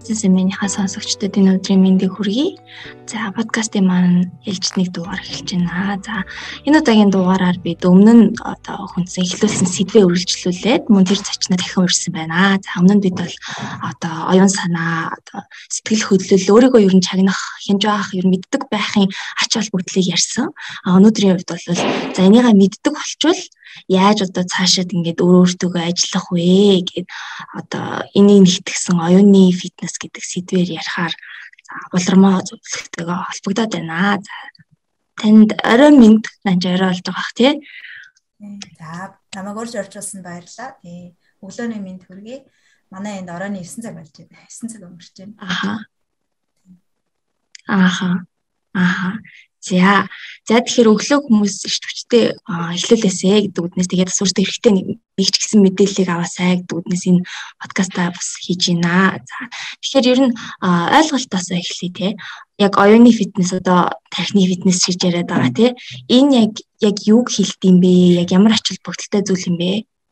Минийхаа сонсогчдод энэ өдрийн мэндийг хүргэе. За подкастын маань ээлжид нэг дугаар эхэлж байна. За энэ удаагийн дугаараар бид өмнө нь хүнсэн эхлүүлсэн сэдвээ үргэлжлүүлээд мөн тэр зочноо дахин урьсан байна. За өмнө нь бид бол оюун санаа, сэтгэл хөдлөл, өөрийгөө ер нь чагнах, хянж авах, ер нь мэддэг байхын ач холбогдлыг ярьсан. Өнөөдрийн хувьд бол за энийгээ мэддэг болчвол яаж цаашаад ингээд өөртөө ажиллах вэ гэд энийг нэгтгсэн оюуны фитнес гэдэг сэдвээр ярихаар улирмаа зөвлөгтэйгээ холбогдоод байна. За танд орой минь нанж орой болж байгаа бах тий. За намайг урьж оржуулсан баярлалаа. Өглөөний минь хүргэе. Манай энд оройн 9 цаг болж байна. 9 цаг өнгөрч байна. Ааха. За тэгэхээр өглөө хүмүүс эрт хүчтэй эхлүүлээсэ гэдэг үднээс тэгээд асууртай хэрэгтэй нэг ч гэсэн мэдээллийг аваасай гэдэг үднээс энэ подкастаа бас хийж байна. За тэгэхээр ер нь ойлголтоосоо эхлэе те. Яг оюуны фитнес тархины фитнес гэж яриад байгаа те. Энэ яг юуг хэлдэг юм бэ? Яг ямар ач холбогдолтой зүйл юм бэ?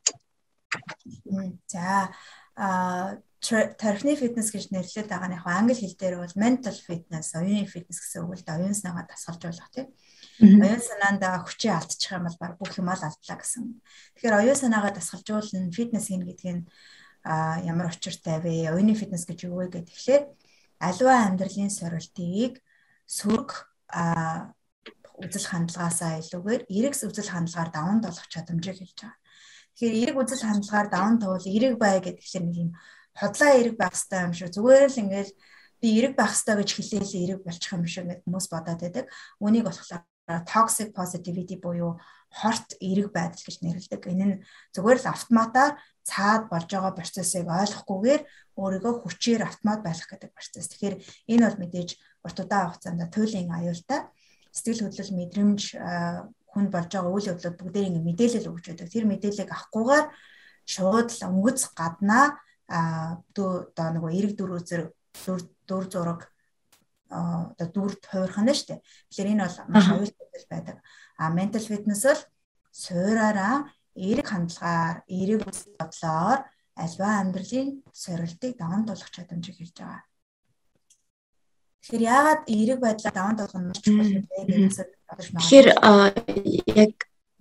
За тархины фитнес гэж нэрлэдэг байгаа нь англи хэл дээр бол mental fitness, оюуны фитнес гэсэн үг л да. Оюун санаагаа дасгалжуулах тийм. Оюун санаанд хүчээ алдчих юм бол баг бүх юм алдлаа гэсэн. Тэгэхээр оюун санаагаа дасгалжуулна, фитнес хийнэ гэдгийг ямар учиртай вэ? Оюуны фитнес гэж юу вэ гэхээр аливаа амьдралын сорилтыг сөрөг үзэл хандлагаасаа илүүгээр эрэг үзэл хандлагаар даван туулах чадамжийг хэлж байгаа. Тэгэхээр эрэг үзэл хандлагаар даван туул, эрэг бай гэдэг нэг юм хотлоо эрэг байх хэрэгтэй юм шиг зүгээр л ингээл би эрэг байх хэрэгтэй гэж хэлээл эрэг болчих юм шиг гэдэг хүмүүс бодоод байдаг. Үүнийг болохоор toxic positivity буюу хорт эрэг байдал гэж нэрлэдэг. Энэ нь зүгээр л автоматар цаад болж байгаа процессыг ойлгохгүйгээр өөрийгөө хүчээр автомат байлгах гэдэг процесс. Тэгэхээр энэ бол мэдээж урт удаан хугацаанд туйлын аюултай сэтгэл хөдлөл мэдрэмж хүнд болж байгаа үйл явдлууд бүгдээ ингэ мэдээлэл өгч байдаг. Тэр мэдээллийг авахгүйгээр шууд л өнгөц гаднаа нөгөө эрэг дүр зураг дүрд хувирах нь шүү дээ. Тэгэхээр энэ бол маш аюултай байдаг. Mental fitness бол суураараа эрэг хандлагаар, эрэг үзэл бодлоор альва амьдралын сорилтыг даван туулах чадамжийг хэлж байгаа. Тэгэхээр яагаад эрэг байдлаа даван туулах нь маш чухал вэ гэж бодож байна. Тэгэхээр яг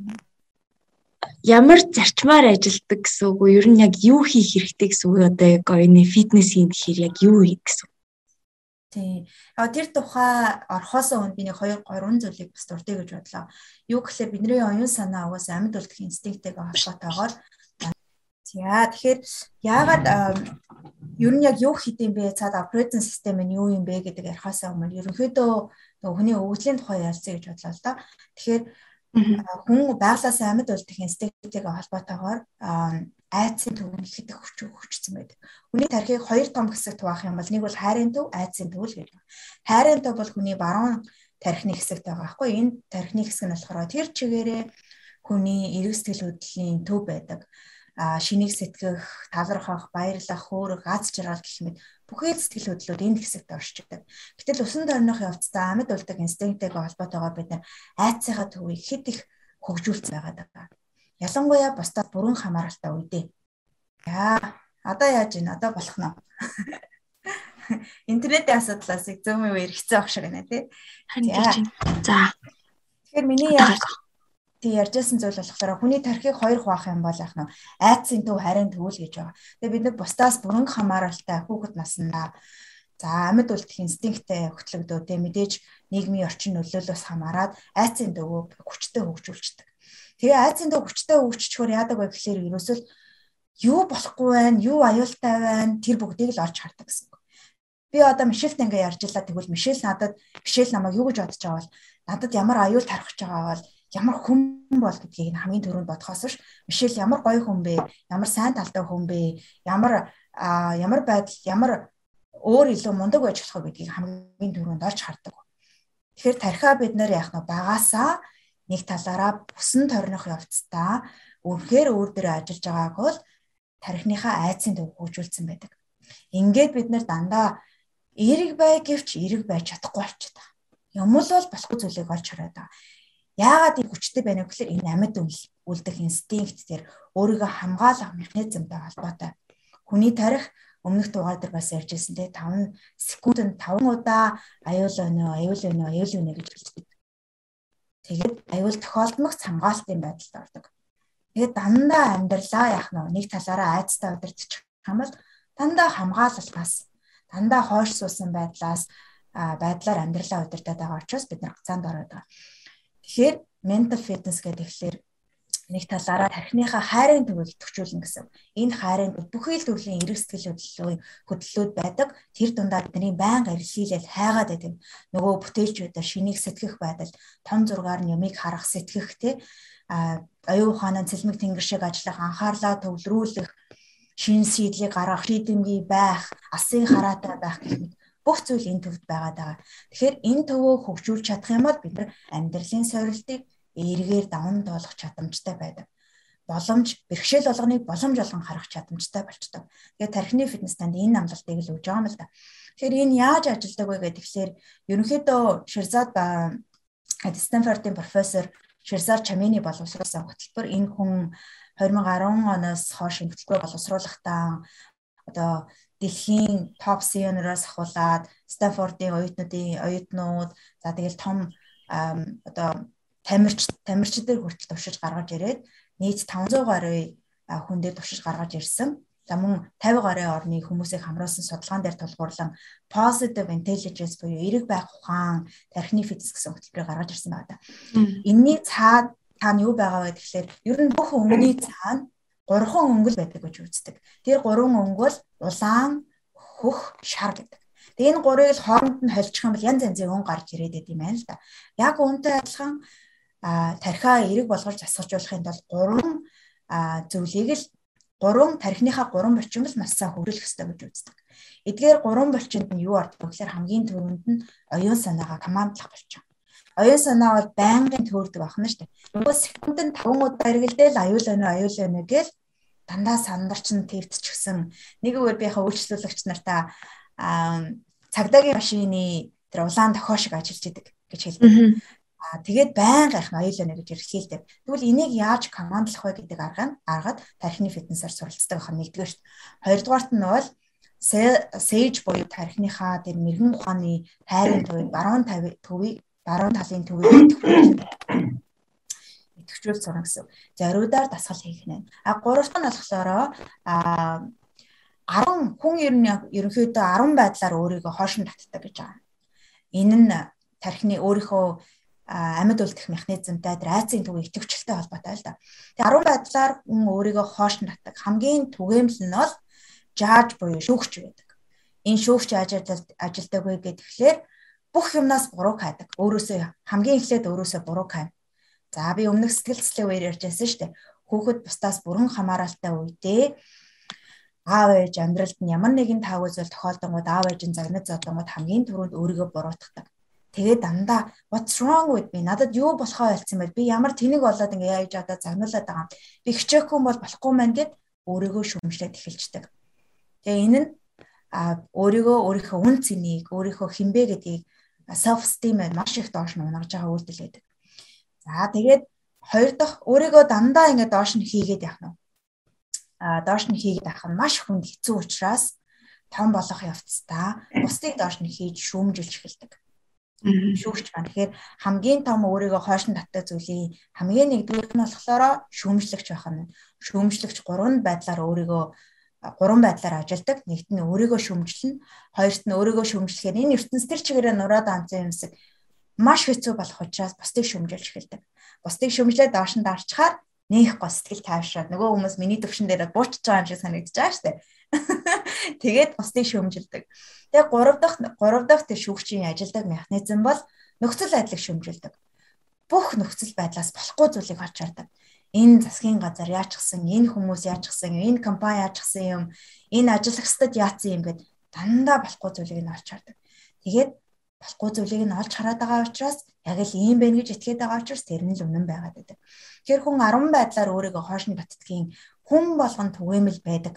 ямар зарчмаар ажилдаг гэсэн үг үү? Ер нь яг юу хийх хэрэгтэй гэсэн үг одоо яг оюуны фитнес хийн гэхээр яг юу хийх гэсэн үг? Тийм. Тэр тухай орхосоо өнд би нэг 2-3 зүйлийг бас дурдъя гэж бодлоо. Юу гэхээр бидний оюун санаа угаасаа амьд үлдэх инстинкттэйгээ холбоотойгоор. За тэгэхээр яагаад ер нь яг юу хийх юм бэ? Цаад операцийн систем нь юу юм бэ гэдэг ярихаасаа өмнө ерөнхийдөө нөгөө хүний өвгөлийн тухай ярилцъя гэж бодлоо л да. Тэгэхээр хүн байглаасаа амьд үлдэх инстинкттэйгээ холбоотойгоор айдсын төв нь ихэд их хүчсэн байдаг. Хүний тархийг хоёр том хэсэгт хуваах юм бол нэг бол хайрын төв, айдсын төв л гэж байна. Хайрын төв бол хүний баруун тархины хэсэгт байгаа байхгүй. Энэ тархины хэсэг нь болохоор тэр чигээрээ хүний эрэг сэтгэл хөдлөлийн төв байдаг. Шинийг сэтгэх, талархах, баярлах, хөөрөх, аз жаргал гэх мэт бүхэл сэтгэл хөдлөлүүд энэ хэсэгт оршдог. Гэтэл усан тойрных явцдаа амьд үлдэх инстинкттэйгээ холбоотойгоор бид айдсынхаа төвийг хэд их хөгжүүлсэн байгаа. Ялангуяа бусдад бүрэн хамааралтай үедээ. Одоо яаж ийн? Одоо болох нь. Интернетийн асуудлаас зөөмөө хэрэгцээ авах шиг байна тий. За. Тэгэхээр миний ярьжсэн зүйл болохоор хүний тархийг хоёр хуваах юм бол яах нь айдсын төв харин төвөл гэж байгаа. Тэгээ бид нар бусдаас бүрэн хамааралтай хүүхэд наснаа за амьд үлдэх инстинкттэй хөтлөгдөө тэ мэдээж нийгмийн орчин нөлөөлөөс хамаарат айдсын төвөө хүчтэй хөгжүүлчихдэг. Тэгээ айдсын төв хүчтэй хөгжчихөөр яадаг вэ гэхээр ерөөсөл юу болохгүй байна, юу аюултай байна тэр бүгдийг л олж хардаг гэсэн үг. Би одоо Мишельтэй ингээ ярьж илаа тэгвэл Мишель намайг юу гэж бодож байгаа бол надад ямар аюул тархаж байгаа бол ямар хүн бол гэдгийг хамгийн түрүүнд бодохоос ш Мишель ямар гоё хүн бэ, ямар сайн талтай хүн бэ, ямар байдал, ямар өөр илүү мундаг байж болох гэдгийг хамгийн түрүүнд олж хардаг. Тэгэхээр тархиа бид нэр яах нь багасаа нэг талаараа бүсэн тойрных явцдаа үнэхээр өөр дээрээ ажиллаж байгааг бол тархиныхаа айдсын төв хөгжүүлсэн байдаг. Ингээд бид нэр дандаа эрэг бай гэвч эрэг байж чадахгүй болчиход байгаа. Юм л бол болохгүй зүйлийг олж хараад байгаа. Яагаад ийм хүчтэй байна вэ гэхээр энэ амьд үлдэх инстинкт дээр өөрийгөө хамгаалах механизмтай холбоотой. Хүний тарих өмнөх дугаар дээр бас ярьж ирсэн те 5 секундэд 5 удаа аюул өнөө гэж хэлдэг. Тэгээд аюул тохиолдмох хамгаалтын байдалд ордог. Тэгээд дандаа амьдралаа яах нь нэг талаараа айцтай удирдах юм бол дандаа хамгаалалтаас дандаа хойш суусан байдлаар амьдралаа удирдах байгаа учраас бид нар гацаанд ороод байгаа. Тэгэхээр mental fitness гэдэг ихлээр нэг талаараа тархиныхаа хайрын төвийг идэвхжүүлнэ гэсэн. Энэ хайрын бүхий л төрлийн эрэг сэтгэл хөдлөлүүд байдаг. Тэр дундаа бидний байнга эрэлхийлэл хайгаад байдаг. Нөгөө бүтээлчүүдээр шинийг сэтгэх байдал, том зургаар нь юмыг харах, сэтгэх те аюу ухаанаа цэлмэг тэнгэр шиг ажиллах, анхаарлаа төвлөрүүлэх, шин сэдлийг гаргах, шийдэмгий байх, алсын хараатай байх гэх мэт бүх зүйл энэ төвд байгаад байгаа. Тэгэхээр энэ төвөө хөгжүүлж чадах юм бол бид нар амьдралын сорилтыг эргээр даван доолох чадамжтай байдаг. Бэрхшээл болгоныг боломж болгон харах чадамжтай болчтой. Тэгээд тархины фитнес танд энэ амлалтыг л өгж байгаа юм л да. Тэгэхээр энэ яаж ажилладаг вэ гэхээр ерөнхийдөө Ширзад Стэнфордын профессор Ширзад Чамини боловсруулсан хөтөлбөр энэ хүн 2010 оноос хойш хөтөлбөр боловсруулахдаа одоо дэлхийн топ CEO-ноос ахуулаад Стэнфордын оюутнууд за тэгэл том одоо тамирчдэр хүртэл төвшиж гаргаж ирээд нийт 500 гаруй хүн дээр төвшиж гаргаж ирсэн. За мөн 50 гаруй орны хүмүүсийг хамруулсан судалгаан дээр тулгуурлан positive intelligence буюу эрэг байх ухаан, тархины фитнес гэсэн хөтөлбөрийг гаргаж ирсэн байна. Энийний цаад таана юу байгаа вэ гэхээр ер нь бүх өнгөний цаана 3 өнгөл байдаг гэж үздэг. Тэр 3 өнгөл улаан, хөх, шар гэдэг. Тэгээ энэ гурыг л хооронд нь холчих юм бол янз янзын өнгө гарч ирээд байт юм байна л да. Яг үүнтэй адилхан тархиа эрэг болгож засгажуулахын тулд 3 зүйлийг л 3 тархиныхаа 3 булчинг л маш сайн хөгжүүлэх ёстой гэж үздэг. Эдгээр 3 булчинд нь юу ордог вэ гэхээр хамгийн түрүүнд нь оюун санаагаа командлах булчин. Оюун санаа бол байнгын төөрдөг ахна шүү дээ. Нөгөө секундэд 5 удаа эргэлдээл аюул өнө гээл дандаа сандарч нь твтчихсэн. Нэг үгээр би яхаа үйлчлүүлэгч нартаа цагдаагийн машины тэр улаан дохио шиг ажиллаж идэг гэж хэлдэг. Тэгээд байнга их аюул өнө гэж эргэлхийлдэг. Тэгвэл энийг яаж командлах вэ гэдэг аргад тархины фитнесээр суралцдаг ах нэгдүгээр шүү. Хоёрдугаарт нь бол сэж буюу тархиныхаа тэр мэрэгэн ухааны тайрын төвийг баруун талын төвийг идэвхжүүл сурна гэсэн. Зориудаар дасгал хийх нэ. Гуравт нь болохоор 10 хүн ерөнхийдөө 10 байдлаар өөрийгөө хоошин татдаг гэж байгаа. Энэ нь тархины өөрийнхөө амьд үлдэх механизмтай айцын төвийн идэвхжүүлэлтэй холбоотой л да. Тэгээ 10 байдлаар хүн өөрийгөө хоошин татдаг. Хамгийн түгээмэл нь бол жааж буюу шүүгч байдаг. Энэ шүүгч ажилдаг вэ гэхээр бүх юмнаас буруу хайдаг. Хамгийн эхлээд өөрөөсөө буруу хайна. За би өмнөх сэтгэл зүйн үеэр ярьжсэн шүү дээ. Хүүхэд бусдаас бүрэн хамааралтай үедээ аав ээж амьдралд нь ямар нэгэн таагүй зүйл тохиолдонгууд аав ээжийн загнаж зодонгууд хамгийн түрүүнд өөрийгөө буруутгадаг. Тэгээд дандаа what's wrong with me? Надад юу болохоо ойлцсон байл? Би ямар тэнэг болоод ингээ яаж одоо загнуулаад байгаа юм. Би хичээхгүй бол болохгүй мэн гэд өөрийгөө шүмжлээд эхэлждэг. Тэгээ энэ нь өөрийнхөө үн цэнийг, өөрийнхөө хинбэ гэдгийг self esteem маш их доош нь унгаж байгаа үйлдэл байдаг. За тэгээд хоёр дахь өөрийгөө дандаа ингээ доош нь хийгээд явах нь. Доош нь хийгээд авах нь маш хүнд хэцүү учраас том болох явцдаа бусдыг доош нь хийж шүүмжилж эхэлдэг. Шүүгч байна. Тэгэхээр хамгийн том өөрийгөө хойш нь татдаг зүйлийн хамгийн нэгдүгээр нь болохоор шүүмжлэгч байх нь. Шүүмжлэгч 3 байдлаар өөрийгөө 3 байдлаар ажилдаг. Нэгт нь өөрийгөө шүүмжлэнэ, хоёрт нь өөрийгөө шүүмжлэхээр энэ ертөнц төр чигээрээ нураад анцсан юмсыг маш хэцүү болох учраас бусдыг шүүмжилж эхэлдэг. Бусдыг шүүмжлээд доош нь дарчхаар нэх гоо сэтгэл тайвшраад нөгөө хүмүүс миний төвшин дээр буучж байгаа юм шиг санагдаж байгаа шүү дээ. Тэгээд бусдыг шүүмжилдэг. Тэгээ 3 дахь тэр шүүгчийн ажилдаг механизм бол нөхцөл байдлыг шүүмжилдэг. Бүх нөхцөл байдлаас болохгүй зүйлийг олж хардаг. Энэ засгийн газар яачихсан, энэ хүмүүс яачихсан, энэ компани яачихсан юм, энэ ажиллагчдад яатсан юм гэд дандаа болохгүй зүйлийг нь олж хардаг. Тэгээд болохгүй зүйлийг нь олж хараад байгаа учраас яг л ийм байх гэж итгээд байгаа учраас тэр нь л үнэн байгаад байдаг. Тэгэхээр хүн 10 байдлаар өөрийгөө хоош нь баттдгийн хүн болгон түгээмэл байдаг.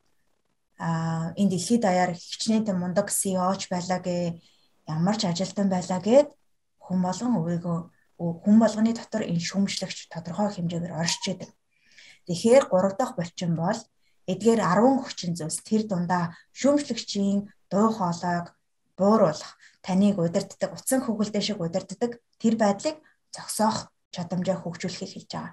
Энэ дэлхийд даяар хичнээн мундаг CEO-ч байлаа гэ, ямар ч ажилтан байлаа гэд хүн болгоны дотор энэ шүүмжлэгч тодорхой хэмжээгээр оршиж идэг. Тэгэхээр 3 дахь булчин бол Эдгээр 10 хүчин зүйлс тэр дундаа шүүмжлэгчийн дуу хоолойг бууруулах, таныг удирддаг, утсан хөвгөлтэй шиг удирддаг тэр байдлыг зогсоох чадамжаа хөгжүүлэхийг хэлж байгаа.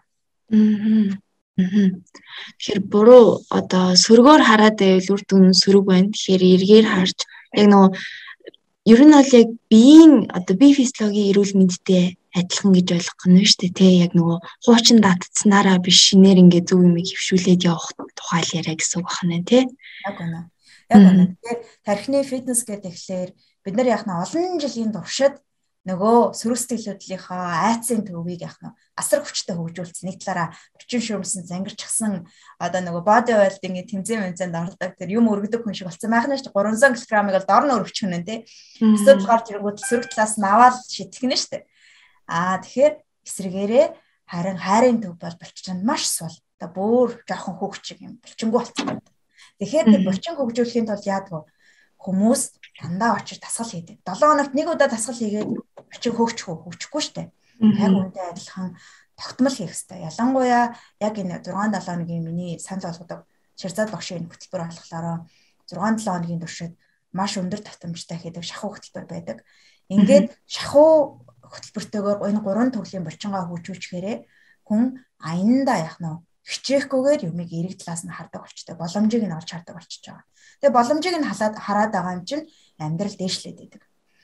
Тэгэхээр буруу одоо сөргөөр хараад байвал үр дүн сөрөг байна. Тэгэхээр эргээр харж яг нөгөө ер нь бол яг бие физиологийн эрүүл мэндтэй адилхан гэж ойлгох нь шүү дээ тий. Яг нөгөө хуучин датцсанараа биш шинээр ингээд зөв юм хөвшүүлээд явах тухай л яриа гэсэн үг байна тий. Яг үнэ. Тэгэхээр тархины фитнес гэдэг ихлээр бид нар яг нь олон жилийн туршид нөгөө сөрөг сэтгэлдлийнхаа айцын төвийг яг нь асар хүчтэй хөгжүүлсэн. Нэг талаараа орчин шүүмсэн, зангирчсан одоо нөгөө body building-ийн тэмцээн ордог тэр юм өргөдөг хүн шиг болсон байх нь шүү дээ. 300 кг-ыг бол дор нь өргөчих нь тий. Эсвэл гарч ирэнгүүт сөрөг талаас нь аваад шитгэх нь шүү дээ. Тэгэхээр эсрэгээрээ харин хайрын төв бол булчинд маш сул. Одоо бүр жоохон хөвгчиг юм булчингуу болсон. Тэгэхээр тэр булчин хөгжүүлэхийн тулд яадаг вэ? Хүмүүс дандаа очиж дасгал хийдэг. 7 хоногт нэг удаа дасгал хийгээд очих хөгжихгүй шүү дээ. Яг үүнтэй адилхан тогтмол хийх хэрэгтэй. Ялангуяа яг энэ 6-7 хоногийн миний санал болгодог Ширзад багшийн хөтөлбөр болохоор 6-7 хоногийн туршид маш өндөр татамжтай хийдэг шахуу хөтөлбөр байдаг. Ингээд шахуу хөтөлбөртөөгөө энэ 3 төрлийн булчингаа хөгжүүлчихээрээ хүн аяндаа яг нь хичээхгүйгээр юмыг эрэг талаас нь хардаг болчтой. Боломжийг нь олж хардаг болчихж байгаа. Тэгээ боломжийг нь хараад байгаа юм чинь амьдрал дээшлээд идэг.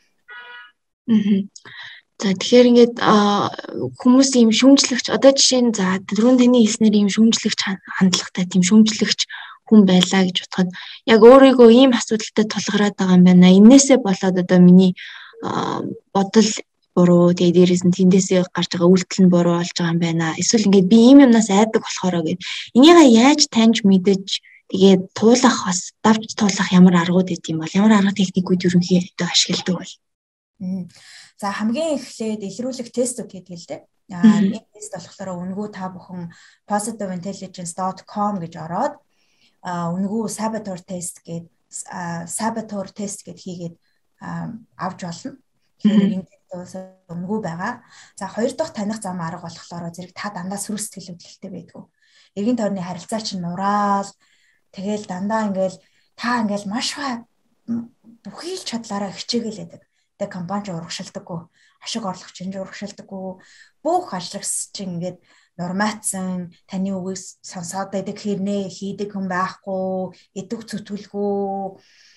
За тэгэхээр ингээд хүмүүс ийм шүүмжлэгч одоо жишээ нь за түрүүн таны хэлснээр ийм шүүмжлэгч хандлагатай тийм шүүмжлэгч хүн байлаа гэж бодоход яг өөрийгөө ийм асуудалтай тулгараад байгаа юм байна. Иннээсээ болоод одоо миний бодол буруу тэгээ дээрээс нь тэндээсээ гарч байгаа үйлдэл нь буруу болж байгаа юм байна. Эсвэл ингээд би ийм юмнаас айдаг болохоор гэд энийгээ яаж таньж мэдэж тэгээд туулах бас давж туулах ямар аргууд гэдэм бол ямар арга техникүүд ерөнхийдөө ашигладаг бол. За хамгийн эхлээд илрүүлэх тестүүд гэдэг л дээ. Энэ тест болохоор үнгүү та бүхэн positiveintelligence.com гэж ороод үнгүү saboteur test гээд хийгээд авч болно. Тэгэхээр энэ тестээс үнгүү байгаа. За хоёр дахь таних зам арга болохоор зэрэг та дандаа сөрөг сэтгэл хөдлөлттэй байдгүй. Эргэн тойрны харилцаа чинь нураал тэгэл дандаа та маш бүхий л чадлаараа хичээгээл байдаг. Тэгээ компани ч урагшилдаггүй, ашиг орлогч нь урагшилдаггүй, бүх ажлагч чинь нурмаацсан, таны үгийг сонсоод байдаг хэрнээ хийдэг хүн байхгүй, идэг зүтгүүлгүй,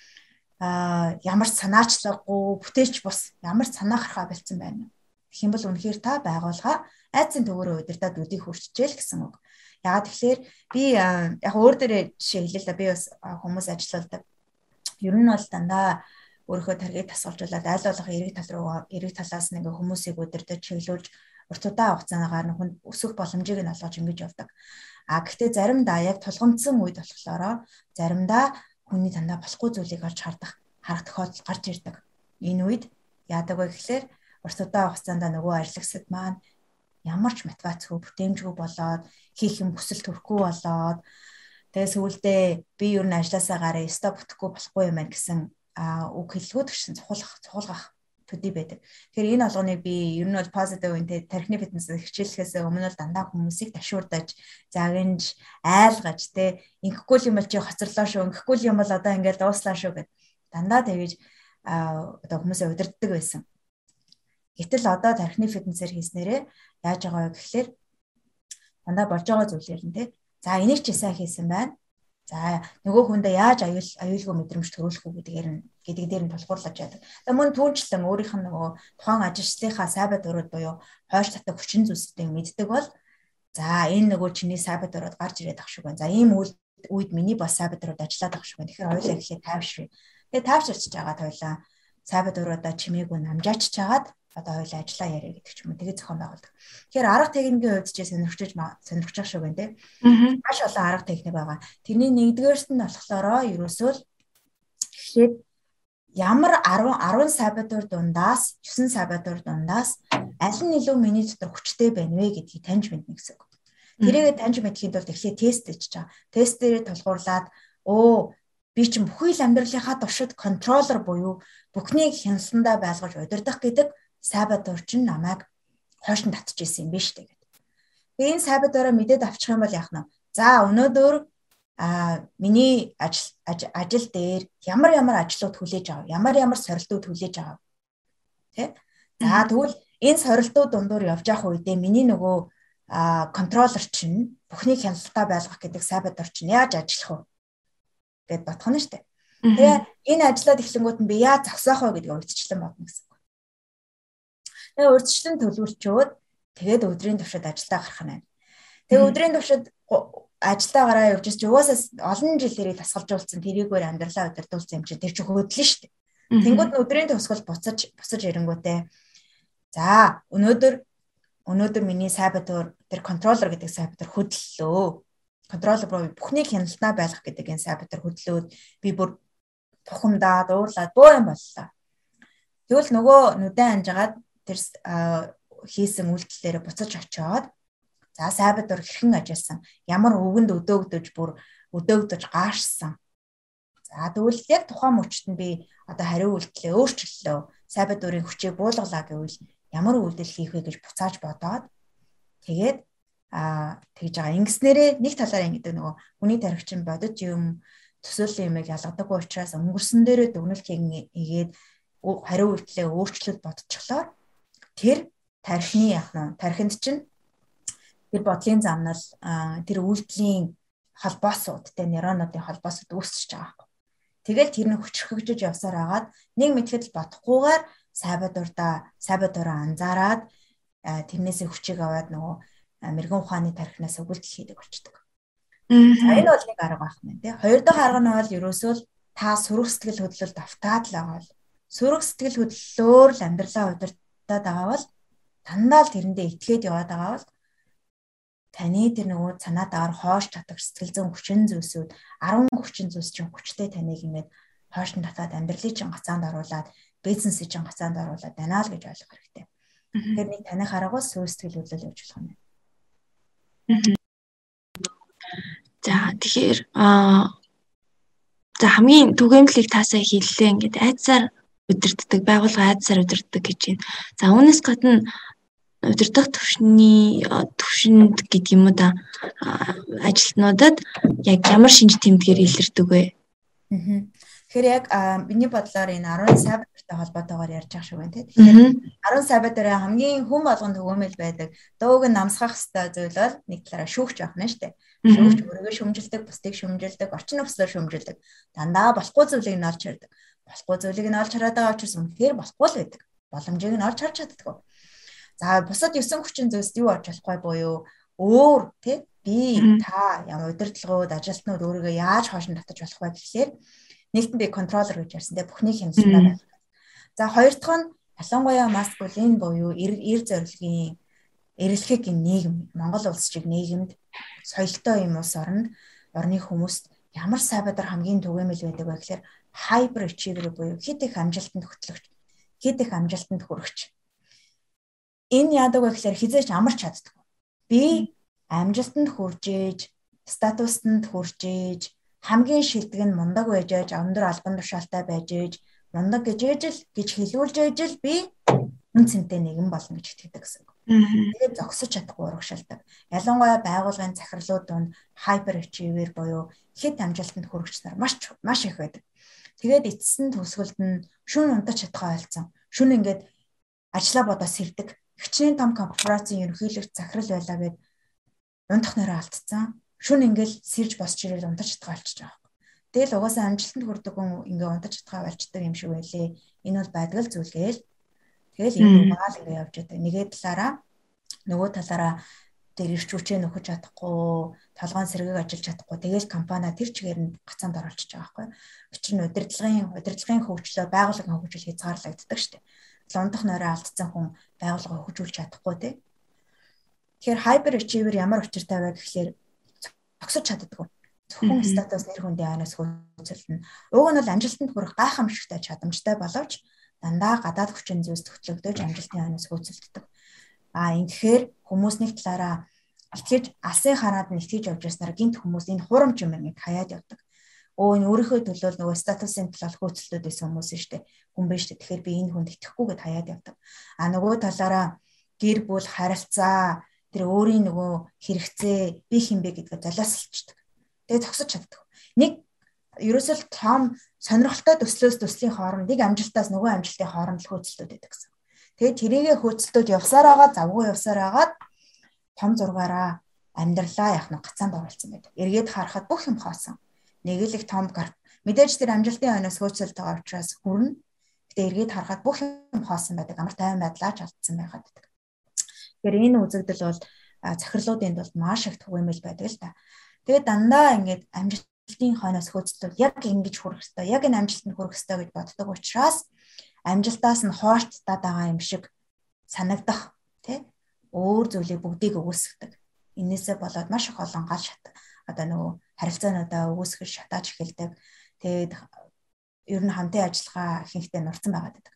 ямар санаачлаггүй, бүтээч бус ямар санаа гарахаа болцсон байна. Тэгэх юм бол үнэхээр та байгуулга айцын төгөөрөө удирдаад үдийг хүрчжээл гэсэн үг. Яагаад тэгэхээр би яг өөр дээрээ жишээ хэлээ л да би бас хүмүүс ажилладаг. Ер нь бол дандаа өөрийнхөө таргийг тасгалжуулаад айл болох эрэг талаас нь хүмүүсийг удирдах чиглүүлж урт удаан хугацаагаар өсөх боломжийг нь олгож ингэж явдаг. Гэхдээ заримдаа яг тулгамдсан үед болохоор заримдаа хүний дандаа болохгүй зүйлийг олж харах тохиолдол гарч ирдэг. Энэ үед яадаг вэ гэхээр урт удаан хугацаанд нөгөө ажиллагчид маань ямар ч мотивацгүй бүтээмжгүй болоод хийх юм хүсэл төрөхгүй болоод тэгээ сүүлдээ би ер нь ажилласаа гараа стоп бүтэхгүй болохгүй юм байна гэсэн үг хэллгүүд гэсэн цухуулгах төдий байдаг. Тэгэхээр энэ алгоныг би ер нь бол positive тархины фитнесээр хичээлэхээс өмнө бол дандаа хүмүүсийг ташуурдаж, загинж, айлгаж ингэхгүй юм бол чи хоцорлоо шүү, ингэхгүй юм бол одоо ингээд дууслаа шүү гэд дандаа тэгэж одоо хүмүүсээ удирддаг байсан. Гэтэл одоо тархины фитнесээр хийснээрээ яаж байгаа вэ гэхээр дандаа болж байгаа зүйлээр нь за энийг чи сайн хийсэн байна. За нөгөө хүндээ яаж аюулгүй мэдрэмж төрүүлэх үү гэдэг дээр нь тулгуурлаж яадаг. Тэгээ мөн түүнчлэн өөрийнх нь нөгөө тухайн ажилчлалынхаа сайбат өрөөд буюу хойш татах хүчин зүйлсүүдийг мэддэг бол за энэ нөгөө чиний сайбат өрөөд гарч ирээд ах шиг байна. За ийм үед миний бас сайбат өрөөд ажиллаад ах шиг байна. Тэгэхээр хоёулаа ихлэ тайвшрыг. Тэгээ тайвширч жагаад хоёулаа сайбат өрөөдөө чимээгүй намжаачж жагаад одоо хоёулаа ажиллаа яриа гэдэг ч юм уу тэгээ зохион байгуулдаг. Тэгэхээр арга техникийн хувьд ч сонирхож шиг байна те. Маш олон арга техник байгаа. Тэрний нэгдүгээрт нь болохоор ерөөсөө гэхэд ямар 10 сабатур дундаас 9 сабатур дундаас аль нь илүү миний дотор хүчтэй байна вэ гэдгийг таньж мэднэ гэсэн үг. Тэрийгэ таньж мэдхийн тулд эхлээд тест хийж байгаа. Тест дээрээ тулгуурлаад би чинь бүхий л амьдралынхаа туршид контроллер буюу бүхнийг хяналтандаа байлгаж удирдах гэдэг сабатур чинь намайг хойш нь татж ирсэн юм биш үү гэдэг. Тэгээ энэ сабатураа мэдээд авчих юм бол яах нь вэ? За өнөөдөр миний ажил дээр ямар ажлууд хүлээж авав, ямар сорилтууд хүлээж авав. Тэ? За тэгвэл энэ сорилтууд дундуур явж явах үедээ миний нөгөө контроллер чинь бүхнийг хяналттай байлгах гэдэг сайбатор чинь яаж ажиллах вэ гэд бодох нь шүү дээ. Тэгээ энэ ажлаад эхлэнгүүт нь би яаж зогсоох вэ гэдгийг урьдчилан бодно гэсэн үг. Тэгээ урьдчилан төлөвлөчөөд тэгээд өдрийн туршид ажилдаа гарах нь байна. Тэгээ өдрийн туршид ажилдаа гараа явж чи угаасаа олон жилээрээ тасгалжуулсан тэрийгээр амьдралаа удирдуулсан юм чи тэр чи хөдлөн шүү дээ. Тэнгүүд нь өдрийн төгсгөл буцаж ирэнгүүтээ за өнөөдөр миний сайбатор тэр контроллер гэдэг сайбатор хөдлөлөө. Контроллер руу бүхнийг хяналтаа байлгах гэдэг энэ сайбатор хөдлөөд би бүр тухамдаад уурлаад бөө юм боллоо. Тэгвэл нөгөө нүдэн анжгаад тэр хийсэн үйлдэлээрээ буцаж очиод за сайбатор хэрхэн ажилласан, ямар өвгөнд өдөөгдөж gaashсан. За тэгвэл яг тухайн мөчт нь би одоо хариу үйлдэлээ өөрчлөлөө. Сайбатурын хүчийг буулгалаа гэвэл ямар үйлдэл хийх вэ гэж буцааж бодоод тэгээд тэгж байгаа. Ингэснээрээ нэг талаараа ингэдэг нөгөө хүний тархич бодож юм төсөөллийн юмыг ялгадаггүй учраас өнгөрсөн дээрээ дүгнэлт хийгээд хариу үйлдэлээ өөрчлөлт бодчихлоо. Тэр тархинд чинь тэр бодлын замнал тэр үйлдэлийн холбоосуудтай нейронуудын холбоосууд үүсчихэж байгаа юм. Тэгэл тэр нь хүчрхэгжиж явсаар агаад нэг мэтгэл бодохгүйгээр сайбатураа анзаараад тэрнээсээ хүчийг аваад нөгөө мэрэгэн ухааны тархинаас өгүүлдэл хийдэг болчдөг. Энэ бол нэг арга байх нь тий. Хоёр дахь арга нь бол ерөөсөө та сүрэг сэтгэл хөдлөлд автаад л байгаа бол сүрэг сэтгэл хөдлөлөөр л амьдралаа удирдах байгаа бол дандаа л тэрэндээ итгээд яваад байгаа бол таны тэр нөгөө санаа даваар хоош татах сэтгэл зүйн хүчин зүйлсүүд 10 хүчин зүйлс чинь хүчтэй таныг ингээд хоош татаад амьдралын чинь гацаанд оруулаад бизнесийн чинь гацаанд оруулаад байна л гэж ойлгох хэрэгтэй. Тэгэхээр нэг таних аргаас сүрэг сэтгэл хөдлөл явуулж болох юм. За тэгэхээр за хамгийн түгээмлийг таасаа хэллээ ингээд айдсаар удирддаг байгууллага айдсаар удирддаг гэж байна. За үүнээс гадна удирдах төвшөнд гэдэг юм уу да ажилтнуудад яг ямар шинж тэмдгээр илэрдэг вэ? Тэгэхээр яг миний бодлоор энэ 10 сайбатортай холбоотойгоор ярьж байгаа шүү байна тийм. Тэгэхээр 10 сайбаторын хамгийн хүн болгонд төгөөмөл байдаг. Дууг нь намсгах хэвээр зүйл бол нэг талаараа шүүгч байх нь шүү дээ. Шүүгч өөрийгөө шүмжилдэг, бусдыг шүмжилдэг, орчин нөхцөлөөр шүмжилдэг. Дандаа болохгүй зүйлийг нь олж хардаг. Болохгүй зүйлийг нь олж хараад байгаа учраас үнэхээр болохгүй л байдаг. Боломжийг нь олж харж чаддаг. За бусад 9 хүчин зүйлс юу олж болохгүй буюу өөр тий би та ямар удирдлагууд ажилтнууд өөрийгөө яаж хоошин татаж болох вэ гэхлээр нэгтэн би контроллер гэж ярьсан тий бүхний хяналтаа байх. За хоёр дахь нь ялангуяа маскулин буюу эр зорилгын эрэлхэг нийгэм Монгол улс шиг нийгэмд соёлтой юм улс орны хүмүүст ямар сайбатар хамгийн түгээмэл байдаг вэ гэхээр hyper achiever буюу хэд их амжилтанд хөтлөгч, хэд их амжилтанд хүрэгч. Энэ яадаг вэ гэхээр хизээч амарч чаддаг. Би амжилтанд хүрж ээж, статустанд хүрж ээж, хамгийн шилдэг нь мундаг байж ээж, өндөр албан тушаалтай байж ээж, мундаг гэж хэлүүлж ээж л би хүн цэнтэй нэгэн болно гэж итгэдэг гэсэн. Тэгээд зогсож чадахгүй урагшаалдаг. Ялангуяа байгууллагын захирлууд донд hyper achiever буюу хэд амжилтанд хүрэгч нар маш их байдаг. Тэгээд эцсийн төгсгөлд нь шүн унтаж чадхаа ойлцсон. Шүн ингээд ажлаа бодож сэрдэг. Хичнээн том корпорацийн ерөнхийлөгч захирал байлаа гэд унтах нэрээ алдсан. Шүн ингээл сэрж босч ирэл унтаж чадхаа олчиж байгаа. Тэгэл угаасаа амжилтанд хүрдэг хүн ингээ унтаж чадхаа олчдаг юм шиг байлээ. Энэ бол байдгал зүйлгээл. Тэгэл энэ угаал ингээ явж байгаа. Нөгөө талаараа тэр ирч хүчээ нөхөж чадахгүй, толгойн сэргийг ажиллаж чадахгүй. Тэгэл компани тэр чигээр нь гацаанд оруулчихж байгаа байхгүй. Учир нь удирдлагын хөгжлөө байгууллагын хөгжил хязгаарлагддаг шүү дээ. Лундах нойроо алдсан хүн байгууллага хөгжүүлж чадахгүй тий. Тэгэхээр hyper achiever ямар учиртай вэ гэхлээр зогсож чаддаг. Зөвхөн статус нэр хүндийн айнаас хөөцөлдөн. Уг нь бол амжилтанд хүрэх гайхамшигтай чадамжтай боловч дандаа гадаад хүчин зүйлс төтлөгдөж амжилтын айнаас хөөцөлддөг. Тэгэхээр хүмүүс нэг талаараа итгэж алсын хараад нь итгэж явж байснаар гинт хүмүүс энэ хурамч юм ингээд хаяад явдаг. Энэ өөрийнхөө төлөө нөгөө статусын төлөө хөөцөлдөд байсан хүмүүс шүү дээ. Хүн биш дээ. Тэгэхээр би энэ хүнд итгэхгүй гэд хаяад явдаг. Нөгөө талаараа гэр бүл харилцаа тэр өөрийн нөгөө хэрэгцээ би хинбэ гэдгээ золиослчдаг. Тэгээ зогсож чаддаг. Нэг ерөөсөө том сонирхолтой төслөөс төслийн хооронд нэг амжилтаас нөгөө амжилтын хооронд л хөөцөлтүүд байдаг гэсэн. Тэгээд тэрийгэ хөөцөлтөд явсаар байгаа, завгүй явсаар агаад том зургаараа амьдралаа яг нэг гацаанд оруулсан байдаг. Эргээд харахад бүх юм хоосон. Нэг л их том мэдээж тэр амжилтын хойноос хөөцөлт байгаа учраас хүрнэ. Гэтэ эргээд харахад бүх юм хоосон байдаг. Амар тайван байдлаач алдсан байгаад байдаг. Тэгэхээр энэ үзэгдэл бол захирлуудын тулд маш их түгээмэл байдаг л та. Тэгээд дандаа ингээд амжилтын хойноос хөөцөлтөд яг ингэж хүрэх хэрэгтэй. Яг энэ амжилтанд хүрэх хэрэгтэй гэж боддог учраас амжилтаас нь хойш татаад байгаа юм шиг санагдах тий өөр зүйлийг бүгдийг өгөөсгдөг. Инээсээ болоод маш их олон гал шат одоо нөгөө харилцаануудаа өгөөсгөж шатааж эхэлдэг. Тэгээд ер нь хамтын ажиллагаа ихэнхдээ нурцсан байгаад байдаг.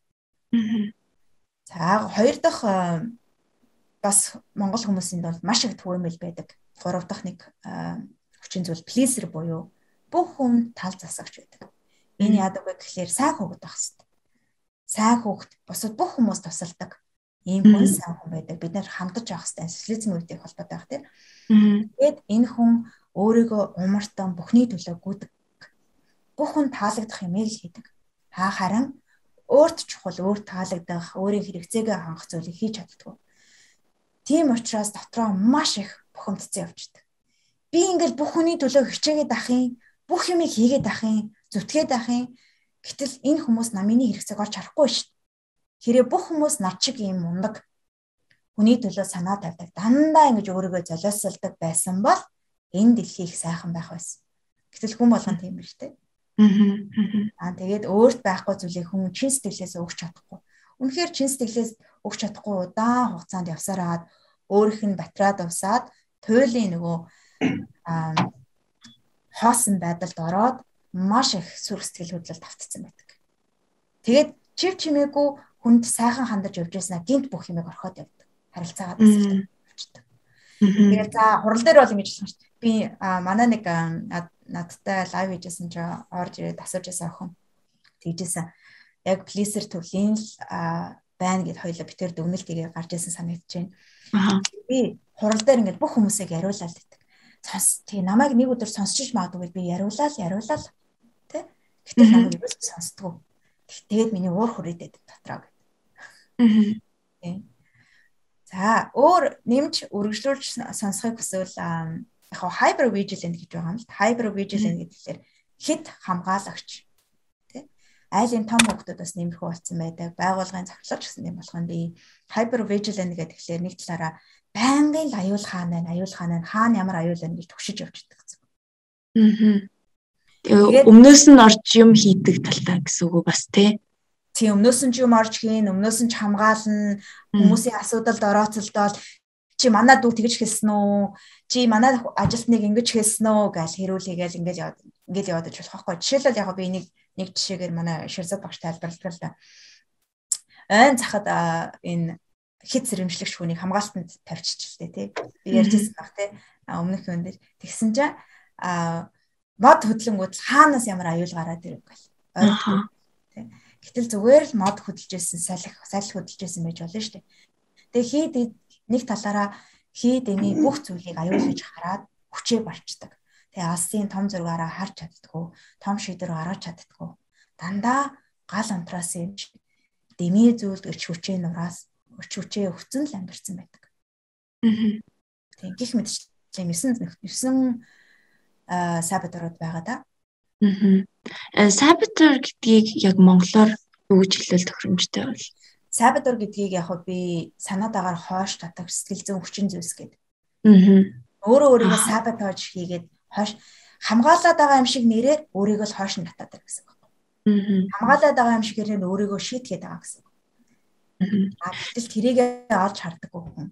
За хоёр дахь бас монгол хүмүүсийн бол маш их түгээмэл байдаг. Гурав дахь нэг хүчин зүйл pleaser буюу бүх хүн тал засагч байдаг. Энэ яадаг вэ гэхээр сайн хүүхэд байх хэрэгтэй. Сайн хүүхэд бусад бүх хүмүүс тусалдаг. Ийм хүн сайн хүн байдаг. Бид нар хамтаж явах хэрэгтэй. Социализм үеийн холбоотой байх тийм. Тэгээд энэ хүн өөрийгөө умартан бүхний төлөө гүйдэг. Бүх хүн таалагдах юм ийг хийдэг. Харин өөрт чухал, өөрт таалагдах, өөрийн хэрэгцээгээ хангах зүйлийг хийж чаддаг. Тийм учраас дотроо маш их бухимдсан явждаг. Би ингээл бүх хүний төлөө хичээгээд ахын, бүх юмыг хийгээд ахын, зүтгээд ахын. Гэтэл энэ хүмүүс намын хэрэгцээг олж харахгүй шүү дээ. Хэрэг бүх хүмүүс над шиг юм мундаг хүний төлөө санаа тавьдаг. Дандаа ингэж өөрийгөө золиослдог байсан бол энэ дэлхий их сайхан байх байсан. Гэтэл хүн болгон тийм биш үү? Тэгээд өөрт байхгүй зүйлийг хүн чин сэтгэлээс өгч чадахгүй. Үнэхээр чин сэтгэлээс өгч чадахгүй удаан хугацаанд явсаар аваад өөрийнх нь батраад усаад туйлын нөгөө хоосон байдалд ороод маш их сүрх сэтгэл хөдлөлд автцсан байдаг. Тэгээд чив чимээгүй хүнд сайхан хандаж явж байснаа гинт бүх юмыг орхиод явдаг. Харилцаагаа тасалдаг. Тэгээд за хурал дээр бол ингэж хэлсэн шүү дээ. Би манай нэг надтай лайв хийжсэн чи орж ирээд асуужсэн охин. Тэгжсэн. Яг pleaser төрлийн байна гэд хоёлоо битэр дүгнэлт игээ гарч ирсэн санагдаж байна. Би хурал дээр ингэж бүх хүмүүсийг яриулаад байдаг. Тий намайг нэг өдөр сонсчих магадгүй гэж би яриулаад тий. Гэтэл намайг юу ч сонсдгоо. Тэгээд миний уур хүрээдээд дотроо гэдэг. Тий. За өөр нэмж үргэлжлүүлж сонсохыг хүсвэл яг hyper vigilant гэж байгаа юм л. Hyper vigilant гэхэлэр хэд хамгаалагч тий. Айлын том хүмүүсд бас нэмэрхүү болсон байдаг. Байгууллагын захирлууч гэсэн юм болох нь би hyper vigilant гэхэлэр нэг талаараа байнгын аюул хаана ямар аюул байна гэж төгшиж явж байдаг. Тэгээ өмнөөс нь орж юм хийдэг талтай гэсэн үг бас тий. Тийм өмнөөс нь ч юм орж хийн, өмнөөс нь ч хамгаална, хүмүүсийн асуудалд орооцолдоод чи манай дүү тэгж хэлсэн үү? Чи манай ажилтныг ингэж хэлсэн үү гэж хэрүүлээгээл ингээл яваад иж болох байхгүй. Жишээлбэл яг би нэг жишээгээр манай Ширзад багш тайлбарладаг л да. Айн захад энэ хит сэрэмжлэгч хүнийг хамгаалтанд тавьчихлээ тий. Би ярьжсэн баг тий. Өмнөх юм дээр тэгсэн чинь мод хөдлөнгүүд хаанаас ямар аюул гараад ирэх гэл. Тий. Гэтэл зүгээр л мод хөдөлж байсан, салхи хөдөлж байсан байж болно шүү дээ. Тэгээ хийд нэг талаараа хийд эний бүх зүйлийг аюулгаж хараад хүчээ барьцдаг. Тэгээ алсын том зургаараа харж чаддгүй, том шийдвэр гаргаж чаддгүй. Дандаа гал унтраас юм дэмий зүйлд өч хүчээ нураас өч хүчээ өгцөн л амьдэрсэн байдаг. Тэгээ гих мэдчлээ 9 сабатурууд байгаа да. Сабатур гэдгийг яг монголоор юу гэж хэлвэл тохиромжтой бол? Сабатур гэдгийг яг би санаад агаар хоош татах сэтгэл зүйн хүчин зүйлс гэдэг. Өөрийгөө саботаж хийгээд хоош хамгаалаад байгаа юм шиг нэрээр өөрийгөө л хоош нь татаад гэсэн үг. Хамгаалаад байгаа юм шиг нэрээр өөрийгөө шийтгээд байгаа гэсэн үг. Гэтэл тэрийгээ олж хардаггүй хүн.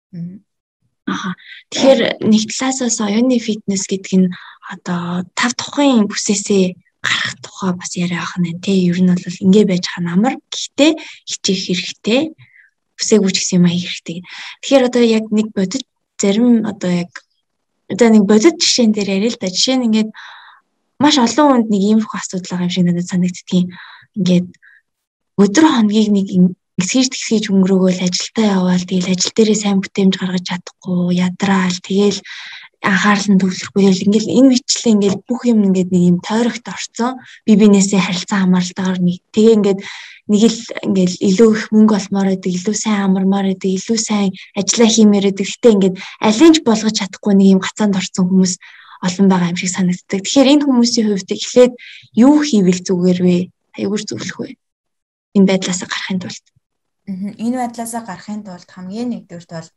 Тэгэхээр нэг талаасаа оюуны фитнес гэдэг нь одоо 5 тухайн бүсээсээ гарах тухай бас яриа ах нь тий. Ер нь бол ингэ байж хаа намар. Гэхдээ хичээх хэрэгтэй. Бүсээгүйч гэсэн юм хийх хэрэгтэй. Тэгэхээр одоо яг нэг бодит зарим одоо яг нэг бодит жишээн дээр яриа л да. Жишээ нь ингээд маш олон хүнд нэг иймэрхүү асуудал байгаа юм шиг надад санагддгийн. Ингээд өдөр хоногийг нэг тэгсгийж өнгөрөөгөл ажилдаа яваал тэгэл ажил дээрээ сайн бүтээмж гаргаж чадахгүй ядраал тэгэл анхаарал нь төвлөрөхгүй яг ингээл энэ бичлээ ингээл бүх юм ингээд нэг юм тойрогт орцсон би бинээсээ харилцан хамаарлалтаар нэг тэгээ ингээд нэг л ингээл илүү их мөнгө олмоор байдаг, илүү сайн амармаар байдаг, илүү сайн ажиллаа хиймээр байдаг. Гэтэ ингээд алинч болгож чадахгүй нэг юм гацаанд орсон хүмүүс олон байгаа юм шиг санагддаг. Тэгэхээр энэ хүмүүсийн хувьд эхлээд юу хийвэл зүгээр вэ? Аюур зөвлөх вэ? Энэ байдлаас гарахын тулд. Энэ байдлаас гарахын тулд хамгийн нэгдүгürt бол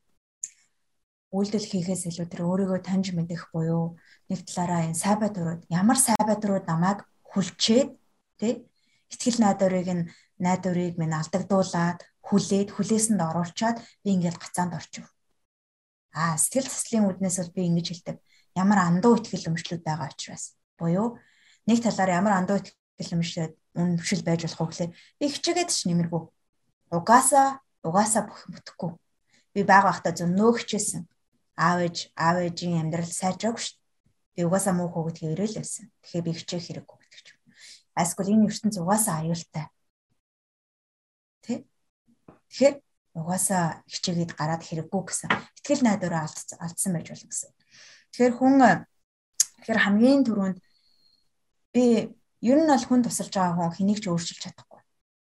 үйлдэл хийхээс илүү тэр өөрийгөө таньж мэдэх буюу нэг талаараа энэ сайбаатурууд ямар сайбаатурууд намайг хүлчээд тий сэтгэл найдварыг минь алдагдуулаад хүлээсэнд оруулчаад би ингээл гацаанд орчих. Сэтгэл заслын үүднээс бол би ингэж хэлдэг. Ямар андуу ихтгэл өмчлүүд байгаа учраас буюу нэг талаараа ямар андуу ихтгэл өмчлөл байж болох вэ гэхээр би хичээгээд ч нэмэргүй. Угаасаа бүтэхгүй. Би бага байхдаа зөндөө хичээсэн. Аав ээжийн амьдрал сайжраагүй шүү дээ. Би угаасаа муу хөвгөд хэврэл байсан. Тэгэхээр би хичээх хэрэггүй гэдэг ч юм. Эсвэл энэ ертөнц угаасаа аюултай. Тэ? Тэгэхээр угаасаа хичээгээд гараад хэрэггүй гэсэн. Итгэл найдвараа алдсан байж болно гэсэн. Тэгэхээр хамгийн түрүүнд би ер нь бол хүн тусалж байгаа хүн хэнийг ч өөрчилж чадахгүй.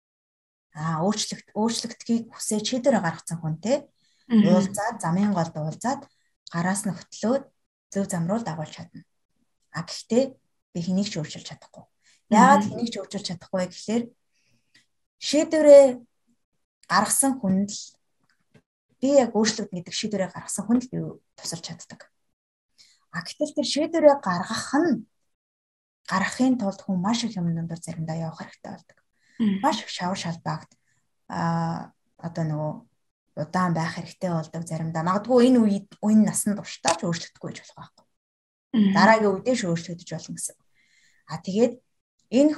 Өөрчлөгдөхийг хүсэж шийдвэр гаргацсан хүн те. Уулзаад замын голд уулзаад гараас нь хөтлөөд зөв зам руу дагуулж чадна. Гэхдээ би хэнийг ч өөрчилж чадахгүй. Яагаад хэнийг ч өөрчилж чадахгүй гэхээр шийдвэрээ гаргасан хүнд л би яг өөрчлөлт гэдэг шийдвэрээ гаргасан хүнд л би тусалж чаддаг. Гэтэл тэр шийдвэрээ гаргахын тулд хүн маш их юм дондор заримдаа явах хэрэгтэй болдог. Маш их шавар шалбаагт одоо нөгөө удаан байх хэрэгтэй болдог заримдаа. Магадгүй энэ насанд туршдаа ч өөрчлөгдөхгүй гэж болох байхгүй. Дараагийн үедээ өөрчлөгдөж болно гэсэн. Тэгээд энэ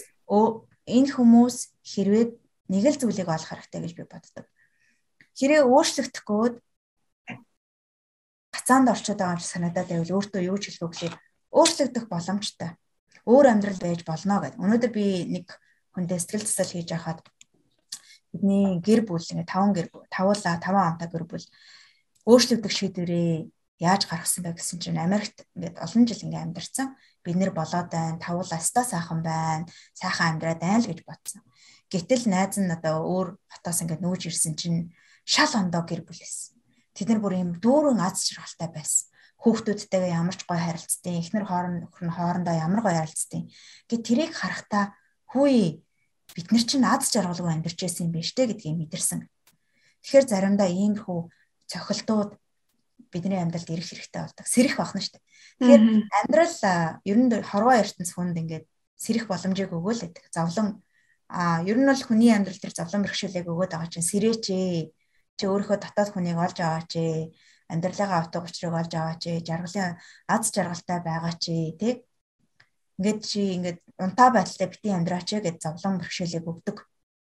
хүмүүс хэрвээ нэг л зүйлийг олох хэрэгтэй гэж би боддог. Хэрвээ өөрчлөгдөхгүй гацаанд орчод байгаа юм шиг санагдаад байвал өөртөө юу ч хэлэхгүй гэхээр өөрчлөгдөх боломжтой. Өөр амьдрал байж болно гэдэг. Өнөөдөр би нэг хүндээ сэтгэл засал хийж байхад бидний гэр бүл ингээ 5 амтай гэр бүл өөрчлөгдөх шийдвэрээ яаж гаргасан бэ гэсэн чинь Америкт ингээд олон жил ингээ амьдарсан. Бид нэр болоод байна, тавуулаа ста сайхан байна, сайхан амьдраад байна л гэж бодсон. Гэтэл найз нь одоо өөр хотоос ингээ нүүж ирсэн чинь шал ондоо гэр бүл байсан. Тэд нар бүр юм дүүрэн аз жаргалтай байсан. Хүүхдүүдтэйгээ ямар ч гоё харилцдаг, эхнэр хоорондоо ямар гоё харилцдаг. Гэт тэрийг харахтаа хүй бид нар чинь аз жаргалгүй амьдарч байсан юм биш үү гэдгийг мэдэрсэн. Тэгэхээр заримдаа иймэрхүү цохилтууд бидний амьдралд ирэх хэрэгтэй болдог. Сэрэх болно шүү дээ. Тэгэхээр амьдрал ер нь хорвоо ертөнц хүнд ингээд сэрэх боломжийг өгөөл гэдэг. Ер нь бол хүний амьдрал дээр зовлон бэрхшээлийг өгөөд байгаа чинь сэрээч ээ. Чи өөрийнхөө дотоод хүнийг олж аваач ээ. Амьдралынхаа утга учирыг олж аваач ээ. Жаргалын аз жаргалтай байгаа чи тий. Ингээд унтаа байдалтай битгий амьдраач гэж зовлон бэрхшээлийг өгдөг.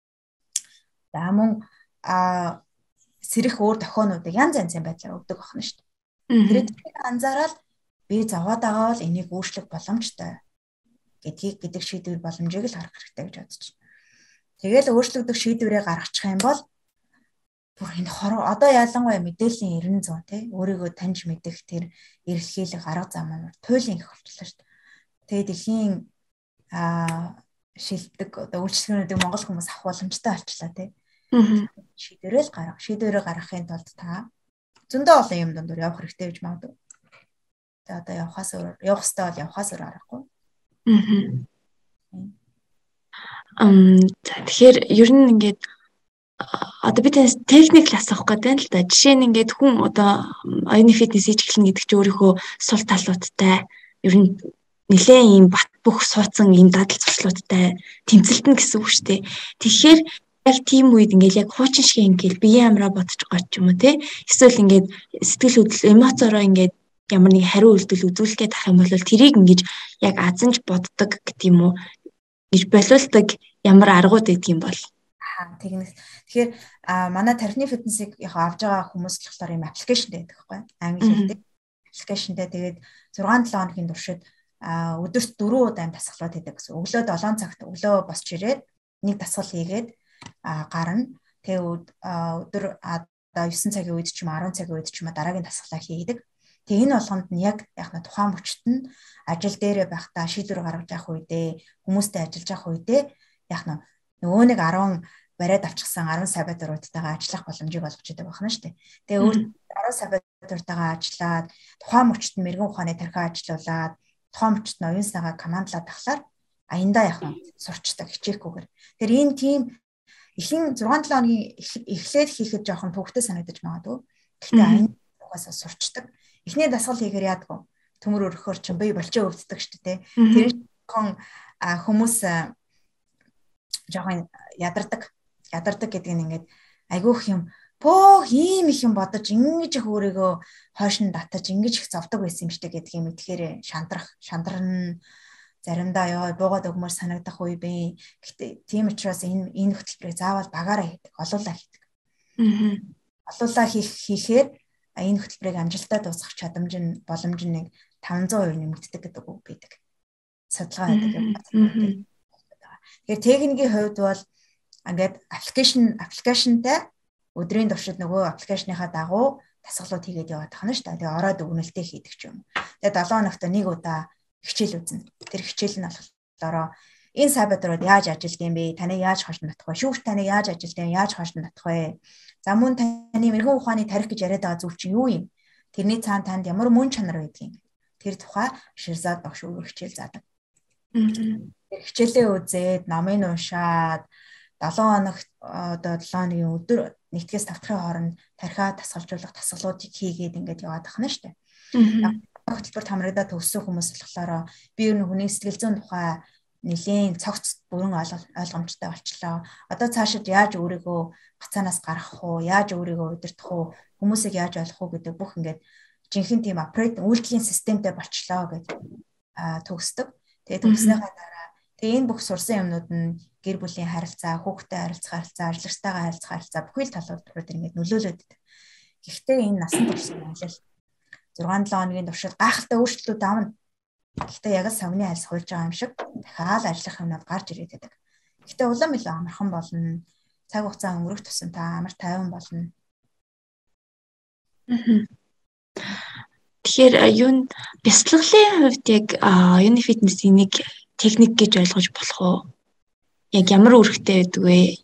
За мөн сэрэх өөр тохионуудыг янз янзын байдлаар өгдөг байна шүү дээ. Тэрийг анзаараад би зовоод байгаа бол энийг өөрчлөх боломжтой гэдэг шийдвэр боломжийг л харах хэрэгтэй гэж бодож байна. Тэгэл өөрчлөгдөх шийдвэрээ гаргачих юм бол бүр энэ одоо ялангуяа мэдээллийн 90% тий өөрийгөө таньж мэдэх тэр эрэлхийлэх арга зам нь туйлын их болчихлоо шүү дээ. Тэгээ дэлхийн шилдэг одоо үйлчлэгчнүүдийг монгол хүмүүс авах боломжтой болчихлоо тий. Шийдвэрээ гаргахын тулд та зөндөө олон юм дондор явах хэрэгтэй гэж магадгүй. Тэгээ одоо явах хэрэгтэй бол явахаас өөр аргагүй. Тэгэхээр ер нь ингээд одоо би танаас техник л асуух гэдэг л да. Жишээ нь ингээд хүн одоо оюуны фитнес хийж эхэлнэ гэдэг чинь өөрийнхөө сул талуудтай ер нь нэлээд ийм бат бөх суудсан ийм дадал зуршлуудтай тэмцэлтэн гэсэн үг шүү дээ. Тэгэхээр яг тийм үед ингээд яг хуучин шиг ингээд биеийн амраа бодож байгаа ч юм уу те. Эсвэл ингээд сэтгэл хөдлөл эмоцороо ингээд ямар нэг хариу үйлдэл үзүүлэх гээд ах юм бол тэрийг ингээд яг азанж боддог гэдэг юм уу гэж боловсдаг ямар аргууд гэдэг юм бол. Тэгнэс. Тэгэхээр манай тархины фитнесийг яг авж байгаа хүмүүс л болохоор юм аппликейшнтэй байдаг байхгүй англи хэлтэй. Аппликейшнтэй тэгээд 6-7 хоногийн туршид өдөрт 4 удаа дасгалууд хийдэг гэсэн. Өглөө 7 цагт өглөө босч ирээд нэг дасгал хийгээд гарна. Тэгээ өдөр одоо 9 цагийн үед ч юм 10 цагийн үед ч юм дараагийн дасгалаа хийдэг. Тэгээ энэ болгонд нь яг тухайн мөчт нь ажил дээрээ байхдаа шийдвэр гаргаж явах үедээ хүмүүстэй ажиллаж явах үедээ нөгөө нэг 10 бариад авчихсан 10 сабатуруудтайгаа ажиллах боломжийг олгож идэг байна шүү дээ. Тэгээ өөр 10 сабатуртайгаа ажиллаад тухайн мөчт нь мэрэгэн ухааны тархиа ажиллуулад тухайн мөчт нь оюун санаагаа командлаад тахлаар аяндаа сурчдаг хичээхгүйгээр. Тэр энэ тийм ихэнх 6-7 хоногийн эхлээд хийхэд жоохон төвөгтэй санагдаж магадгүй. Гэхдээ аянд угаасаа сурчдаг. Эхний дасгал хийхээр яадаг вэ? Төмөр өргөхөөр чинь бие болчоо өвддөг шүү дээ. Тэр хүмүүс жоохон ядардаг гэдэг нь ингээд айгүйх юм бөөх ийм их юм бодож ингэж их өөрийгөө хойш нь татаж ингэж их зовдөг байсан юм шиг гэдэг юм итгэхээр шандран заримдаа ёо буугаад өгмөр санагдах үе бий. Гэхдээ тийм учраас энэ хөтөлбөрийг заавал багаараа хийдэг, олуулаа хийдэг. Олуулаа хийхээр энэ хөтөлбөрийг амжилттай дуусгах боломж нь нэг 500% нэмэгддэг гэдэг үг байдаг. Судалгаа байдаг юм байна. Тэгэхээр техникийн хувьд бол ингээд аппликейшнтай өдрийн туршид нөгөө аппликейшныхаа дагуу дасгалууд хийгээд яваад тахна шүү дээ. Тэгээ ороод өгнөлтөө хийдэг ч юм. Тэгээ 7 хоногт нэг удаа хичээл үзнэ. Тэр хичээл нь болохоор энэ сабатурууд яаж ажилдсан бэ? Таныг яаж хожно татах вэ? Шүүгч таныг яаж ажилдсан, яаж хожно татах вэ? За мөн таны мэрэгэн ухааны тарих гэж яриад байгаа зүйл чинь юу юм? Тэрний цаана танд ямар мөн чанар байдгийг. Тэр тухай Ширзад багш өөрөө хичээл заадаг. Тэр хичээлээ үзээд, номыг уншаад 7 хоногт одоо 7 хоногийн өдөр 1-5 дахин хооронд тархиа тасгалжуулах дасгалуудыг хийгээд ингээд яваад тахна шүү дээ. Хөтөлбөрт хамрагдаад төгссөн хүмүүс болохоор би ер нь хүний сэтгэл зүйн тухай нэлийн цогц бүрэн ойлгомжтой болчлоо. Одоо цаашид яаж өөрийгөө гацаанаас гаргах уу, яаж өөрийгөө удирдах уу, хүмүүсийг яаж ойлгох уу гэдэг бүх ингээд жинхэнэ тийм үйлдэлийн системтэй болчлоо гэж төгсдөг. Тэгээд төгснөхийн дараа энэ бүх сурсан юмнууд нь гэр бүлийн харилцаа, хүүхдтэй харилцах харилцаа, ажлагчтайгаа харилцах харилцаа бүхий л талууд ингээд нөлөөлөд байдаг. Гэхдээ энэ насан туршийн аялал 6-7 хоногийн туршид гайхалтай өөрчлөлтүүд авна. Гэхдээ яг л савны айлс хуульж байгаа юм шиг дахиад ажиллах юмнууд гарч ирээд байдаг. Гэхдээ улам илүү амархан болно. Цаг хугацаа өнгөрөх тусам та амар тайван болно. Тэгэхээр юунд бяцлаглалын хувьд яг юуны фитнесийн нэг техник гэж ойлгож болох уу? Яг ямар үүрэгтэй байдаг вэ?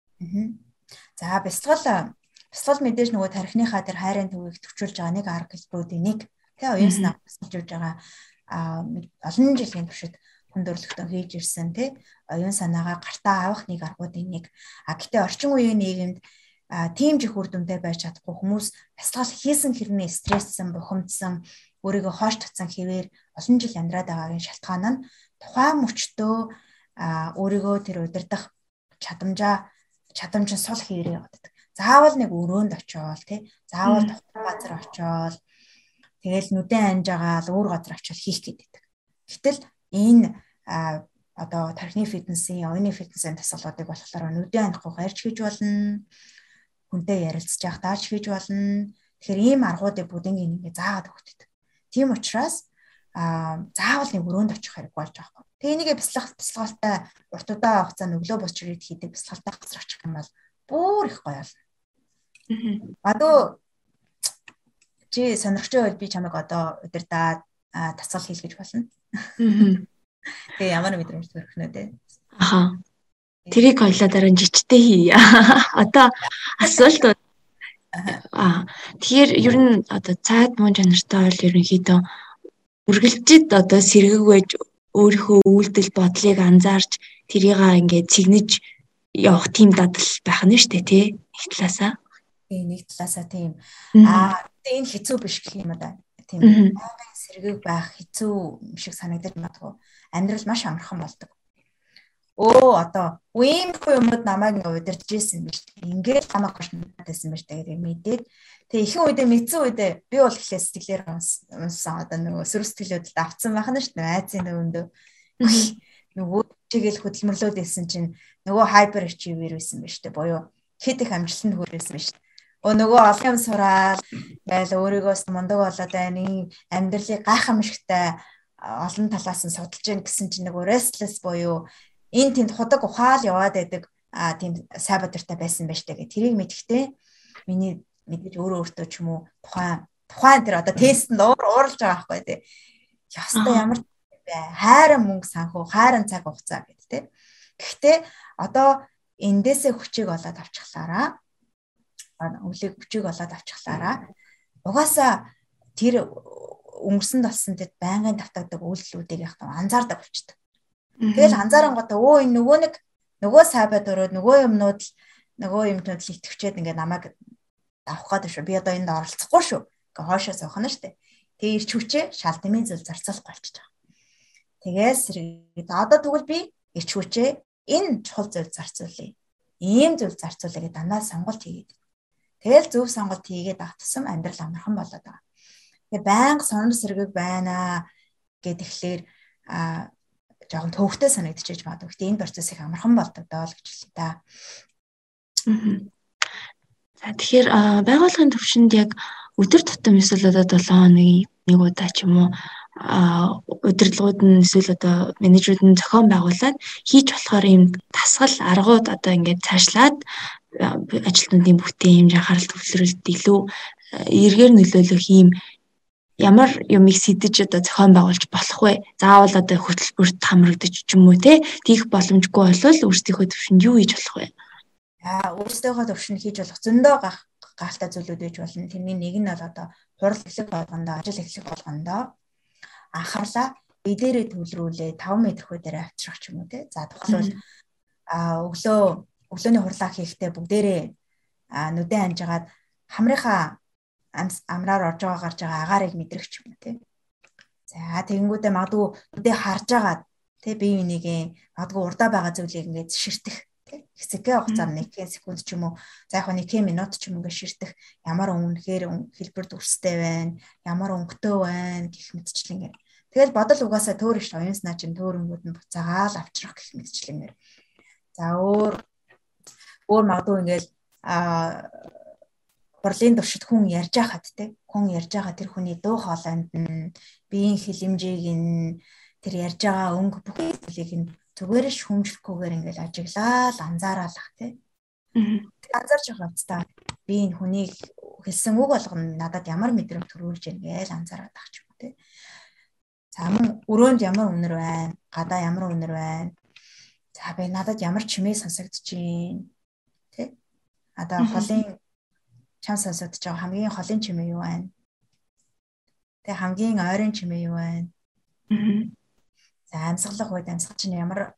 За бяцлал мэдээж нөгөө тархиныхаа тэр хайрын төвийг төвчүүлж байгаа нэг арга хэлбэрүүдийн нэг. Тэгээ оюун санаа төвчүүлж байгаа олон жилийн туршид хүндрэлтэн хийж ирсэн тий оюун санаагаа гартаа авах нэг аргуудын нэг. Гэтээ орчин үеийн нийгэмд тийм ч их үр дүнтэй байж чадахгүй хүмүүс бяцлал хийсэн хэрнээ стресссэн, бухимдсан, өөрийгөө хоош татсан хэвээр олон жил амьдраад байгаагийн шалтгаан нь тухайн мөчтөө өөрийгөө тэр удирдах чадамж нь сул хийрээ явдаг. Заавал нэг өрөөнд очиод тий заавал тухайн газар очиод тэгэл нүдэн анжаагаал өөр газар очиод хийх гэдэг. Гэтэл энэ одоо тархины фитнесийн, оюуны фитнесийн тасгалуудыг болохоор нүдэн анахгүй гарч хийж болно. Хүнтэй ярилцж явах даач хийж болно. Тэгэхээр ийм аргуудыг бүгднийг ингээ заагаад өгдөг. Тийм учраас заавал нэг өрөөнд очих хэрэг болж байгаа юм. Тэгээ энийгээ бяцлагалтай урт удаан хугацаанд өглөө босч ирээд хийдэг бяцлагалтай газар очих юм бол бүр их гоё болно. Адуу чи сонирхчтой бол би чамайг одоо удирдаад тасгал хийх гэж болно. Тэгээ ямар мэдрэмж төрөхнөө те. Аха. Тэрийг хоёлаа дараа жижигтэй хий. Одоо асуулт. Тэгэхээр ер нь одоо цаад мөн чанартай бол ерөнхийдөө үргэлжид одоо сэргэг байж өөрийнхөө үйлдэл бодлыг анзаарч тэрийг ингээд цэгнэж явах тийм дадал байх нь шүү дээ тий. Нэг талаасаа. Нэг талаасаа тийм. Энэ хэцүү биш гэх юм да. Тийм. Аймаг сэргэг байх хэцүү шиг санагдаж магадгүй. Амьдрал маш амархан болдог. Одоо үеийнхүү юмуд намайг удирдах гэсэн юм биш. Ингээд намайг гошнотайсэн байж тэгээд мэдээд тэгээ ихэнх үедээ мэдсэн үедээ би бол ихлээр сэтгэлээр унсан одоо нөгөө сөрөг сэтгэлүүдэд авцсан байх нь шүү дээ. Айцын өвөндөө нөгөө чигээл хөдөлмөрлөөд байсан чинь нөгөө хайпер ачивер байсан байж тээ буюу хэд их амжилтанд хүрсэн байж тээ. Нөгөө олон юм сураал яйл өөрийгөөс мундаг болоод байна. Амьдралыг гайхамшигтай олон талаас нь судалж гин гэсэн чинь нөгөө restless буюу энэ тэнд худаг ухаал яваад байдаг тийм сабатуртай байсан байж тээ. Тэрийг мэдхдээ миний мэдээж өөрөө өөртөө ч юм уу тухайн тухайн тэр одоо тестэнд ууралж байгаа байхгүй тий. Яста ямар бэ? Хайран мөнгө санхүү, хайран цаг хугацаа гэдэг тий. Гэхдээ одоо эндээсээ хүчийг олоод авчихлаараа өвлийг хүчийг олоод авчихлаараа угаасаа тэр өнгөрсөнд болсон тэр байнгын давтагдаг үйлдэлүүдийг яг анзаардаг болчихдээ. Тэгэл анзаарангуудаа энэ нөгөө сайбад өрөөд нөгөө юмнууд итгэвчээд ингээд намайг авах гэдэг шүү. Би одоо энд оролцохгүй шүү. Ингээ хоошоо суух нь штэ. Тэгээ ирч хүчээ шал дэмий зүйл зарцуулах болчихж байгаа. Тэгээс сэргээд одоо тэгвэл би ирч хүчээ энэ чухал зүйл зарцуулъя. Ийм зүйл зарцуулъя гэдэг дандаа сонголт хийгээд. Тэгэл зөв сонголт хийгээд автсан амьдрал амархан болоод байгаа. Тэгээ байнга сонор сэргийг байна гэдэглээр жоохон төвхтэй санагдчихэж байна. Гэхдээ энэ процесс их амархан болдог доо л гэж хэлээ та. За тэгэхээр байгууллагын төвшөнд яг өдөр тутам эсвэл одоо 7 хоногийн нэг удаа ч юм уу удирдлагууд нь эсвэл одоо менежерүүд нь зохион байгуулад хийж болохоор юм тасгал аргууд одоо ингээд цаашлаад ажилтнуудын бүтээн хэмжээ анхаарал төвлөрөлт илүү эргээр нөлөөлөх юм ямар юмыг сэтэж одоо зохион байгуулж болох вэ? Заавал одоо хөтөлбөрт хамрагдаж ч юм уу тийх боломжгүй болвол өөрсдийнхөө төвшөнд юу хийж болох вэ? Өөрсдийнхөө төвшөнд хийж болох зөндөө гахалтай зүйлүүд байж болно. Тэрний нэг нь бол одоо хурал эхлэх болгондоо, ажил эхлэх болгондоо анхаарлаа эдээрээ төвлөрүүлээ 5 м хөөдөө авчрах ч юм уу те. За тухайлбал өглөөний хурлаа хийхдээ бүгдээрээ нүдэн амжгаад хамрынхаа амраар орж байгаа гарч байгаа агаарыг мэдрэх ч юм уу те. За тэгэнгүүтээ магадгүй нүдээ харж агаад те бие бинийгээ магадгүй урдаа байгаа зүйлийг ингээд ширтэх хэсэгтэй хугацаанд 1 секунд ч юм уу за яг 1 минут ч юм ингээд ширтэх ямар үнэхээр хэлбэр дүрстэй байна, ямар өнгөтэй байна гэх мэтчлэнгээр. Тэгэл бодол угаасаа төөр ш оюун санаа чинь төөрөнгүүд нь буцаагаал авчрах гэх мэтчлэнгээр. За өөр магадгүй ингээд хурлын туршид хүн ярьж байхад тэр хүний дуу хоолойнд нь биеийн хилэмжийг нь тэр ярьж байгаа өнгө бүх зүйлийг нь зүгээр шүмжлэхгүйгээр ингээл ажиглаад анзаараалах тий. Анзаарч байгаа хэвээр би энэ хүнийг хэлсэн үг болгоно надад ямар мэдрэмж төрүүлж байна гэж анзаараад ах ч юм уу тий. За мөн өрөөнд ямар үнэр байна, гадаа ямар үнэр байна. За би надад ямар чимээ сонсогдож байна тий. Одоо холын чам сонсогдож байгаа хамгийн холын чимээ юу байна? Тэг хамгийн ойрын чимээ юу байна? За амьсгалах үед амьсгал чинь ямар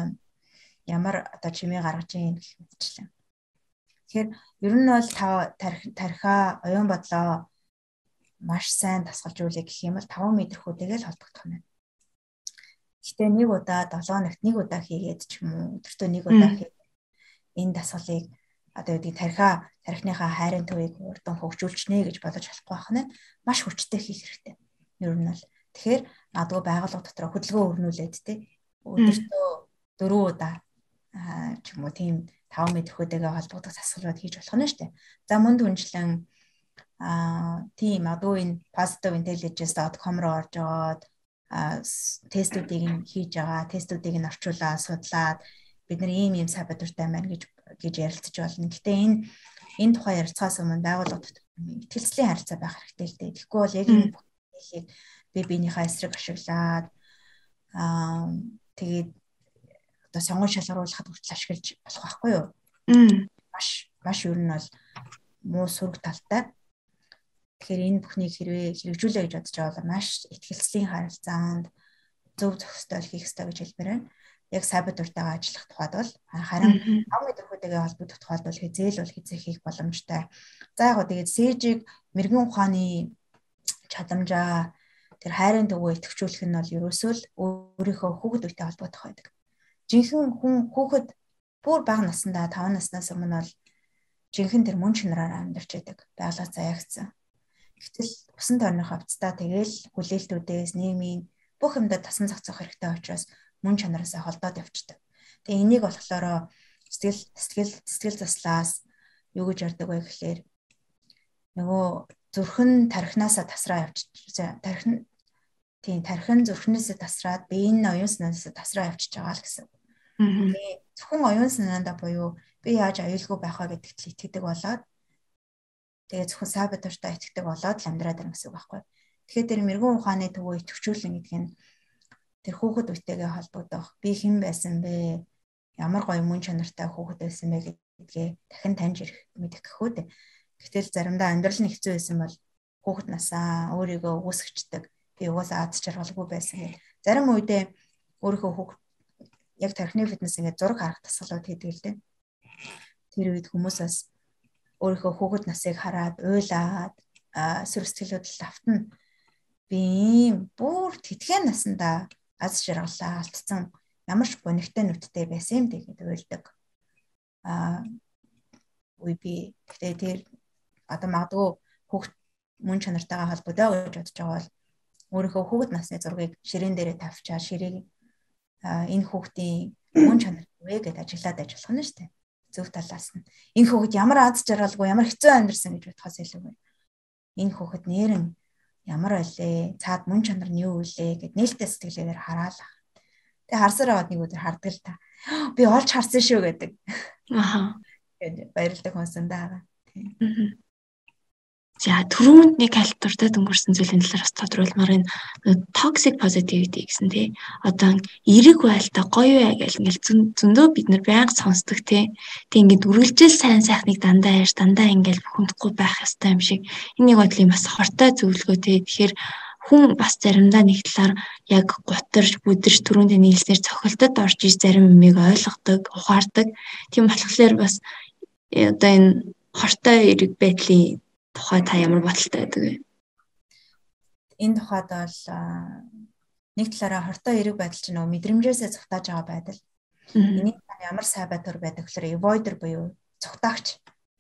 одоо чимээ гаргаж ийн гэх мэтчлэн. Тэгэхээр ер нь бол тархиа оюун бодлоо маш сайн тасгалжуулъя гэх юм бол 5 м хөөтэйгээ л холбогдох юм байна. Гэхдээ нэг удаа 7 хоногт нэг удаа хийгээд ч юм уу өдөртөө нэг удаа хийгээд энэ дасгалыг одоо үүдгийг тархиныхаа хайрын төвийг урдан хөгжүүлчихнэ гэж бодож болохгүй байна. Маш хүчтэй хийх хэрэгтэй. Ер нь бол тэгэхээр магадгүй байгууллага дотор хөдөлгөөн өрнүүлээд тий өдөртөө 4 удаа ч юм уу тийм 5 м хөөтэйгээ холбогдох засварууд хийж болох нь шүү дээ. За мөн түнчлэн тийм магадгүй энэ positivintelligence.com руу орж аваад тестүүдийг нь хийж байгаа, тестүүдийг нь орчуулаад судлаад бид нар ийм сайбар дуртай байна гэж ярилцаж болно. Гэтэ энэ тухай ярилцахаас өмнө байгууллага дотор итгэлцлийн харилцаа байх хэрэгтэй л дээ. Тэгэхгүй бол яг энэ бүхнийг би биенийхээ эсрэг ашиглаад тэгээд одоо сонгон шалгаруулахад хүртэл ашиглаж болох байхгүй юу? Маш ер нь бол муу сөрөг талтай. Тэгэхээр энэ бүхнийг хэрэгжүүлээ гэж бодож байгаа бол маш итгэлцлийн харилцаанд зөв зохистой хийх ёстой гэж хэлмээр байна. Яг сайбар дуртайгаа ажиллах тухайд бол харин 5 м хөөтэйгээ холбогдох тухайд бол хизээ хийх боломжтой. За яг гоо тэгээд сээжийг мэрэгэн ухааны чадамжаа тэр хайрын төвөө идэвхжүүлэх нь бол ерөөсөө л өөрийнхөө хүүхэд үетэй холбогдох байдаг. Жинхэнэ хүүхэд бүр бага насндаа 5 наснаас өмнө бол жинхэнэ тэр мөн чанараар амьдарч байдаг. Байгалаа заяагцсан. Гэтэл усан тойрны хавцтай тэгэл хүлээлтүүдээс нийгмийн бүх юмдаа тасан зохицох хэрэгтэй учраас мөн чанараасаа холдоод явчихдаг. Тэгээ энийг болохоор сэтгэл заслаас юу гэж ярьдаг вэ гэхээр нөгөө зүрхэн тархинасаа тасраа явчих. Тархин зүрхнээсээ тасраад биеийн оюун санаасаа тасраа явчихж байгаа л гэсэн. Тэгээ зөвхөн оюун санаандаа буюу би яаж аюулгүй байх вэ гэдэгт л итгэдэг болоод Тэгээ зөвхөн сабатуртай итгэдэг болоод л амьдраад байна гэсэн үг байхгүй. Тэгэхээр тэр мэрэгэн ухааны төвөө итгэвчүүлэн гэдэг нь тэр хүүхэд үетэйгээ холбогдох. Би хэн байсан бэ? Ямар гоё мөн чанартай хүүхэд байсан бэ гэдгээ дахин таньж ирэх мэдэх гэхүү дээ. Гэтэл заримдаа амьдрал нь хэцүү байсан бол хүүхэд насаа өөрийгөө үгүйсгчдэг. Би угаасаа аз жаргалгүй байсан гэх. Зарим үедээ өөрийнхөө хүүхэд яг тархины фитнес ингээд зураг харах тасгалууд хийдэг л дээ. Тэр үед хүмүүсээс өөрийнхөө хүүхэд насыг хараад уйлаад сүр сэтгэлүүдэл автна. Би ийм бүр тэтгэн насандаа аз жаргалаа алдсан ямар ч гонигтай нүдтэй байсан юм дээ гэдэг уйлдаг. Үгүй би гэхдээ тэр одоо магадгүй хүүхэд мөн чанартайгаа холбоотой гэж бодож байгаа бол өөрийнхөө хүүхэд насны зургийг ширээн дээрээ тавьчаад ширээ энэ хүүхдийн мөн чанар вэ гэдээ ажиглаад ажиллах нь шүү дээ. Зөв талаас нь энэ хүүхэд ямар аз жаргалгүй ямар хэцүү амьдсан гэж бодхоос илүү энэ хүүхэд нэрэн ямар байлээ цаад мөн чанар нь юу вэ гэд нээлттэй сэтгэлээр хараалаа. Тэгээ харсаар аваад нэг өдөр хардаг л та. Би олж харсан шүү гэдэг. Аха. Гэж баярлалаа хүнсэндээ байгаа. Тийм. За түрүүнд нэг хальтуртай өнгөрсөн зүйлийн талаар бас тодруулмаар энэ toxic positivity гэсэн тий. Одоо эерэг байлтаа гоё бай гэл ингээл зөндөө бид нар байнга сонсдог тий. Тэг ингээд үргэлжил сайн сайхныг дандаа ярьж дандаа ингээл бухимдахгүй байх ёстой юм шиг. Энийг бодлын бас хортой зөвлөгөө тий. Тэгэхээр хүн бас заримдаа нэг талаар яг гутарж бүдэрч түрүүнд нийлснээр цохилтод орж иж зарим юмыг ойлгодог, ухаардаг. Тийм болохоор бас одоо энэ хортой эерэг байдлын тухай та ямар бодолтой байдаг вэ? Энэ тухайд бол нэг талаараа хортой эерэг байдал чинь нөгөө мэдрэмжээсээ цухтааж байгаа байдал. Энийг ямар сай байтур байдаг гэхээр avoider буюу цухтаагч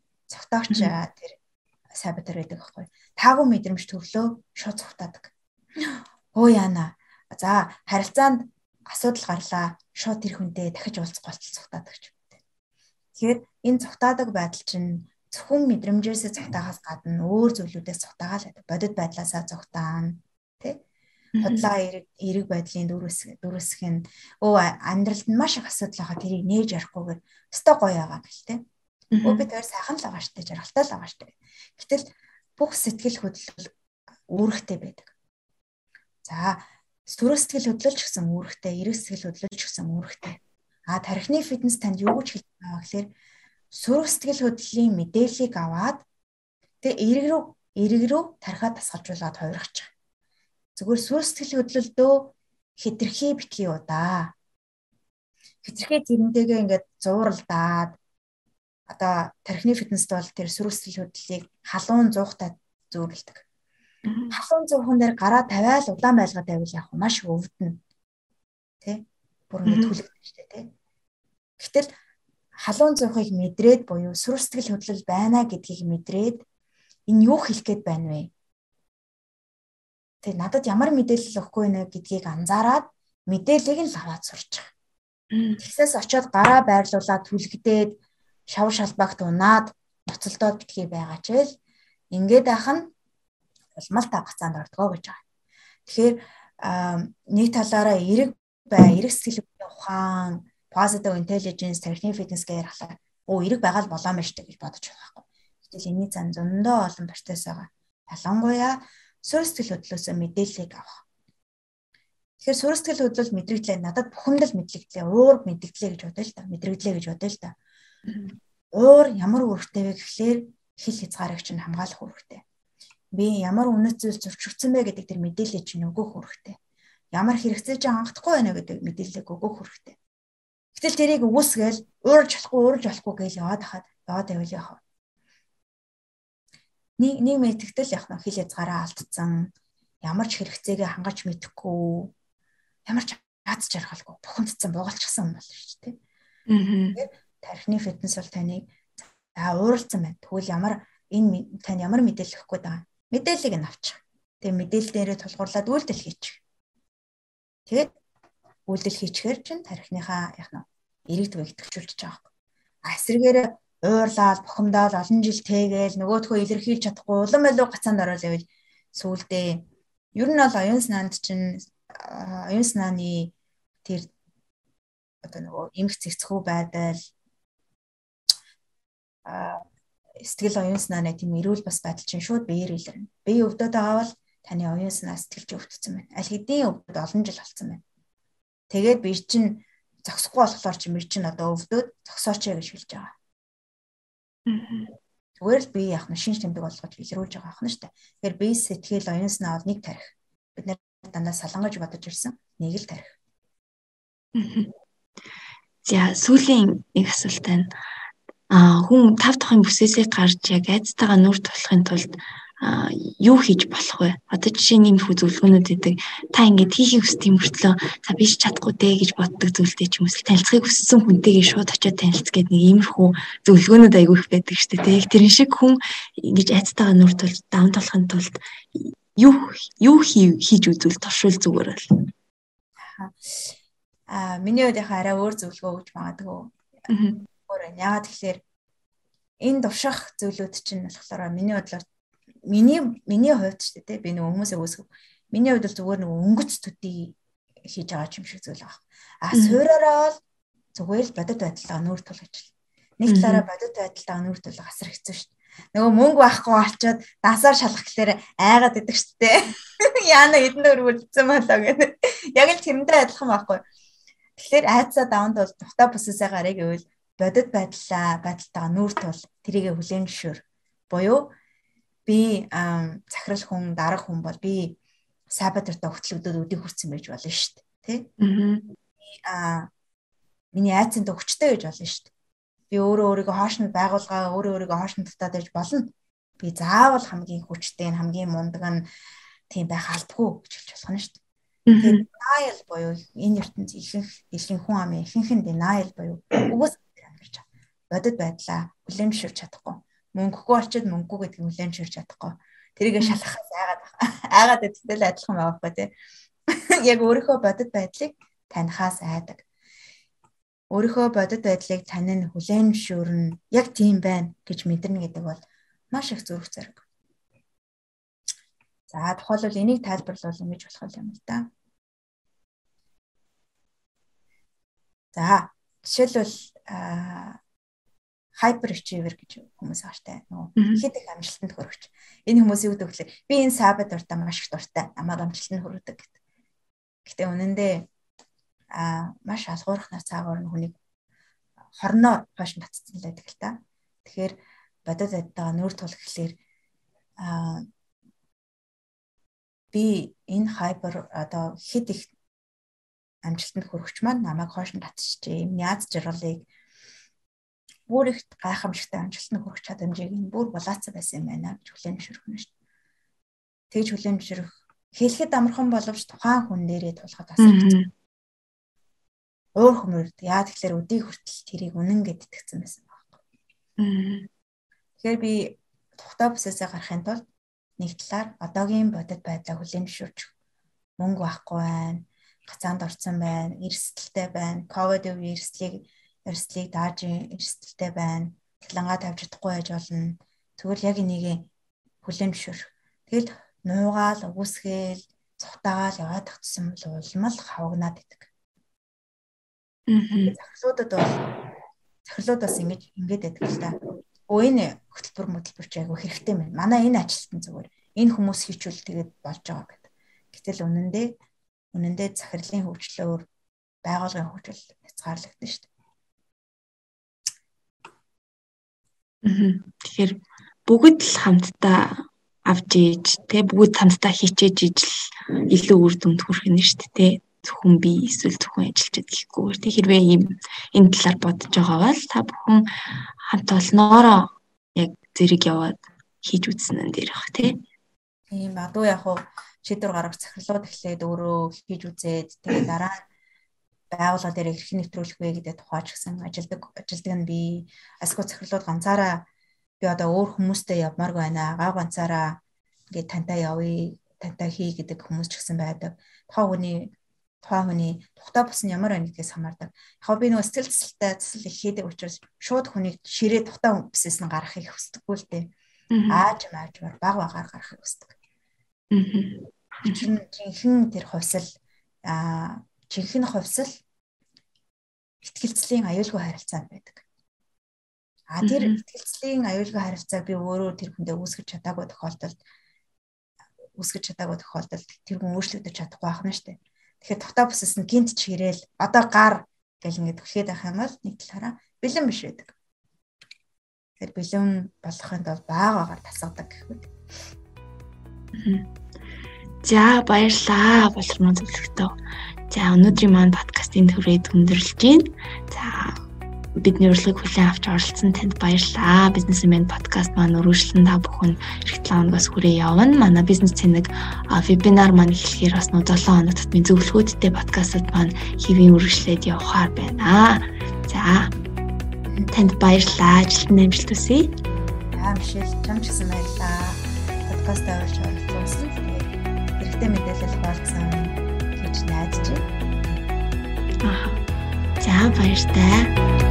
тэр сай байтур байдаг байхгүй. Таагүй мэдрэмж төрлөө шууд цухтаадаг. Оо яана. За харилцаанд асуудал гарлаа. Шууд тэр хүнтэй дахиж уулзах болтол цухтаадаг ч юм. Тэгэхээр энэ цухтаадаг байдал чинь зөвхөн мэдрэмжээсээ цухтаагаас гадна өөр зүйлүүдээс цухтаагаал байдаг. Бодит байдлаасаа цухтаана. Тэ? Худлаа эерэг байдлын дөрөсөх нь амьдралд нь маш их асуудал байгаа тэрийг нээж яриахгүйгээр өстой гоё байгаа гэл тэ. Би тэр сайхан л байгаа штэ, жаргалтай л байгаа штэ. Гэтэл бүх сэтгэл хөдлөл үүрэгтэй байдаг. За сүрэ сэтгэл хөдлөлч гэсэн үүрэгтэй, эрэг сэтгэл хөдлөлч гэсэн үүрэгтэй. Тархины фитнес танд юу гэж хэлж байгаа гэхээр сүрэ сэтгэл хөдлөлийн мэдээллийг аваад тэгээ эрэг рүү тархиа тасгалжуулаад хувиргачих. Зүгээр сүрэ сэтгэл хөдлөлдөө хэтэрхий битгий удаа. Хэтэрхий зэрэмтэйгээ ингээд зууралдаад одоо тархины фитнест бол тэр сүрэ сэтгэл хөдлөлийг халуун зуухтай зөөрлөдөг. Халуун зуухан дээр гараа тавиал удаан байлгаа тавил яг маш өвдөн. Тэ? Бүр ингээд түлэгдэж штэ тэ. Гэтэл халуун зуухыг мэдрээд буюу сүрэ сэтгэл хөдлөл байна гэдгийг мэдрээд энэ юу хэлэх гээд байна вэ? Тэг надад ямар мэдээлэл өгөхгүй нэ гэдгийг анзаараад мэдээллийг нь аваад сурчих. Тэгсээс очиод гараа байрлуулаад түлхдээд шав шалбагт унаад ноцолдоод битгий байгаа ч л ингээд ах нь улмал тавцаанд ордгоо гэж байгаа. Тэгэхээр нэг талаараа эрэг сэтгэл ухаан, positive intelligence, tarхины fitness гэж ярихлаа. Эрэг байгаа л болоо мэж гэж бодож байгаа байхгүй. Гэтэл энэний зан зөндөө олон процесс байгаа. Ялангуяа сүрэ сэтгэл хөдлөлөөс мэдээллийг авах. Тэгэхээр сүрэ сэтгэл хөдлөл мэдрэгдлээ надад бухимдал мэдлэгдлээ, уур мэдгдлээ гэж бодъё л та. Мэдрэгдлээ гэж бодъё л та. Уур ямар үүрэгтэй вэ гэхлээр хил хязгаарыг чинь хамгаалах үүрэгтэй. Би ямар үнэт зүйл зөрчигдсөн бэ гэдэг тэр мэдээлэл чинь өгөх үүрэгтэй. Ямар хэрэгцээ чинь хангахгүй байна гэдэг мэдээллийг өгөх үүрэгтэй. Гэтэл тэрийг үгүйсгээл уурж болохгүй гэж яваад байвал яах вэ? Нэг мэдтгэл явах нь хил хязгаараа алдсан, ямар ч хэрэгцээгээ хангаж мэдэхгүй, ямар ч аз жаргалгүй, бухимдсан, буугалчихсан юм болно шүү дээ. Тэгэхээр тархины фитнес бол таныг ууралцсан байна. Тэгвэл тань ямар мэдээлэл өгөх гээд байгаа? Мэдээллийг нь авчих. Тэгээ мэдээлэл дээрээ тулгуурлаад үйлдэл хийчих. Тэгээд үйлдэл хийчихээр чинь тархиныхаа эрэг төвийг идэвхжүүлж байгаа. Эсрэгээрээ уурлаад, бухимдаад олон жил тэгээл нөгөөдхөө илэрхийлж чадахгүй улам илүү гацаанд орол явал сүүлдээ ер нь бол оюун санааны тэр одоо эмх цэгцхүү байдал сэтгэл оюун санааны тийм эрүүл бас байдал чинь шууд биеэр илэрнэ. Бие өвдөд байгаа бол таны оюун санаа сэтгэлж өвдсөн байна. Аль хэдийн өвдөд олон жил болсон байна. Тэгээд би чинь зогсохгүй болохоор чи мэр чинь одоо өвдөд зогсооч гэж хэлж байгаа. Зүгээр л би яах нь шинж тэмдэг болгож илрүүлж байгаа ахна штэ. Тэгэхээр бие сэтгэл оюун санаа бол нэг тарих. Бид нэр дандаа салангаж бодож ирсэн нэг л тарих. За сүүлийн нэг асуулт байна. Хүн 5 дахь бүсээсээ гарч яг айцтайгаа нүр тулахын тулд юу хийж болох вэ? Одоо жишээ нь иймэрхүү зөвлөгөөнүүд өгдөг. Та ингэж хийхийг хүсдэг мөртлөө за би ч чадахгүй дээ гэж боддог зүйлтэй ч юм уу танилцахыг хүссэн хүнтэйгээ шууд очиод танилцах гэдэг нэг иймэрхүү зөвлөгөөнүүд айгүй их байдаг шүү дээ. Яг тэрэн шиг хүн ингэж айцтайгаа нүр тулж даван тулахын тулд юу хийж үзвэл туршил зүгээр бол. Миний хувьд яхаа арай өөр зөвлөгөө өгч магадгүй. Яагаад тэгэхээр энэ турших зүйлүүд чинь болохоор миний бодлоор миний хувьд ч тийм би нөгөө хүмүүсээ үүсгэх. Миний хувьд бол зүгээр нөгөө өнгөц төдий хийж байгаа юм шиг зүйл байна. Суураараа л зүгээр л бодит байдлаа нүүр тулгаж. Нэг талаараа бодит байдлаа нүүр тулгах асар хэцүү шүү дээ. Нөгөө мөнгө байхгүй болчоод дансаар шалгах гэхээр айгаад идэг шүү дээ. Яана эдэн дөр үлдсэн болоо гэдэг. Яг л тэрэндээ адилхан байхгүй. Тэгэхээр айцаа даванд бол тухтай бүсээсээ гарыг гэвэл бодит байдалтайгаа нүүр тул тэрийгэ хүлээн зөвшөөр. Буюу би захирал хүн дарга хүн бол би сабатартай хөтлөгдөд өдийг хүрсэн байж болно шүү дээ. Тэ? Миний айцанд өгчтэй гэж болно шүү дээ. Би өөрийгөө хоошнд байгуулгаа өөрийгөө хоошнд татаад байж болно. Би заавал хамгийн хүчтэй хамгийн мундаг нь тийм байх албагүй гэж хэлж болох нь шүү дээ. Тэгээд denial буюу энэ ертөнцийн ихэнх дэлхийн хүн амын ихэнх нь denial буюу үгүйс амьдарч байгаа. Бодит байдлаа хүлээн зөвшөөрч чадахгүй. Мөнгөгүй болчиход мөнгөгүй гэдгийг хүлээн зөвшөөрч чадахгүй. Тэрийгэ шалгахаас айгаад эцэдэл адилхан байгаа байхгүй тий. Яг өөрийнхөө бодит байдлыг танихаас айдаг. Өөрийнхөө бодит байдлыг тань нь хүлээн зөвшөөрнө. Яг тийм байна гэж мэдэрнэ гэдэг бол маш их зүрх зэрэг. За тухайлбал энийг тайлбарлавал ингэж болох юм л да. За жишээлбэл hyperachiever гэж хүмүүс байгаа штэ. Нөгөө хэд их амжилтанд хүрэгч. Энэ хүмүүс юу гэдэг вэ? Би энэ сабад дуртай маш их дуртай. Намайг амжилтанд хүргэдэг гэдэг. Гэтэ үнэндээ маш алгуурхнаар цаагаар нь хүнийг хорноо хойш нь татцсан л байдаг л та. Тэгэхээр бодит байдгаа нүүр тул гэхлээр би энэ хайпер одоо хэд их амжилтанд хүрэгч маань намайг хойш нь татчихжээ. Юм яз жаргалыг бүр их гайхамшигтай амжилтанд хүрэх чадамжийг нь бүр булаацсан байсан юм байна гэж хүлээн зөвшөөрөх нь шүү дээ. Тэгж хүлээн зөвшөөрөх хэлэхэд амархан боловч тухайн хүн нэрээ тулахад асар хэцүү. Өөр хүмүүрд яа тэгэхээр өдий хүртэл тэрийг үнэн гэд итгэсэн байсан байхгүй. Тэгэхээр би тухтай бүсээсээ гарахын тулд нэг талаар одоогийн бодит байдлаа хүлээн зөвшөөрч мөнгө байхгүй байна, гацаанд орсон байна, эрсдэлтэй байна, ковид үеийн эрсдлийг дааж эрсдэлтэй байна, цалингаа тавьж чадахгүй байж болно. Тэгвэл яг энийг хүлээн зөвшөөрөх. Тэгэл нуугаал, өгөөсгээл, цухтаагаал яваад тагцсан бол улмал хавагнаад идэг. Захирлууд бас ингэж байдаг л та. Энэ хөтөлбөр ч айгүй хэрэгтэй байна. Манай энэ ажилтан зүгээр энэ хүмүүс хийчүүл тэгээд болж байгаа гэдэг. Гэтэл үнэндээ захирлын хөгжлөөр байгууллагын хөгжил хязгаарлагдана шүү дээ. Тэгэхээр бүгд л хамтдаа авч ийж бүгд хамтдаа хийчээж ижил илүү үр дүнд хүрэх нь шүү дээ. Зөвхөн би эсвэл зөвхөн ажилчид гэхгүй. Тэг хэрвээ энэ талаар бодож байгаа бол та бүхэн хамт олноороо яг зэрэг яваад хийж үзсэн энэ дээр бах тий. Тийм адуу яг хуу шийдвэр гаргах захирлууд эхлээд өөрөө хийж үзээд тэгээд дараа нь байгууллага дээр хэрхэн нэвтрүүлэх вэ гэдэг тухайч гэсэн ажилдаг нь би асгүй захирлууд ганцаараа би одоо өөр хүмүүстэй явмаар байна. Гав ганцаараа ингээд тантай явъя, тантай хий гэдэг хүмүүс ч гэсэн байдаг. Тухайн хүний тухтай бус нь ямар байна гэдгээс хамаардаг. Яг би нөгөө сэтгэл засал их хийдэг учраас шууд хүнийг ширээ тухтай бүсээс нь гаргахыг хүсдэггүй л дээ. Аажмаар баг багаар гаргахыг хүсдэг. Жинхэнэ тэр хувьсал ихтгэлцлийн аюулгүй харилцаанд байдаг. Тэр итгэлцлийн аюулгүй харилцааг би өөрөө тэр хүндээ үүсгэж чадаагүй тохиолдолд тэр хүн өөрчлөгдөж чадахгүй байх нь шүү дээ. Тэгэхээр дотоо бүсэс нь гинт чирээл одоо гар гэл ингээд түлхээд байх юм бол нэг талаараа бэлэн биш байдаг. Тэгэхээр бэлэн болохын тулд байгаагаар тасгадаг гэхүүд. За баярлалаа боловсрон зөвлөгтөө. За өнөөдрийн маань подкастын төрөйд өндөрлөж байна. За бидний урилгыг хүлээн авч оролцсон танд баярлалаа. Бизнесмен подкаст маань үргэлжлэн та бүхэн эх 7 хоногоос хүрээ явна. Манай бизнес цэник вебинар маань эхлэхээр бас 7 хоног татмын зөвлөгөөдтэй подкастууд маань хэвийн үргэлжлээд явахаар байна. За танд баярлалаа. Ажилтны амжилт хүсье. Мишель чамч гэсэн баярлалаа. Подкаст авч оролцсон. Хэрэгтэй мэдээлэл хуваалцсан гэж найдаж байна. За баяртай.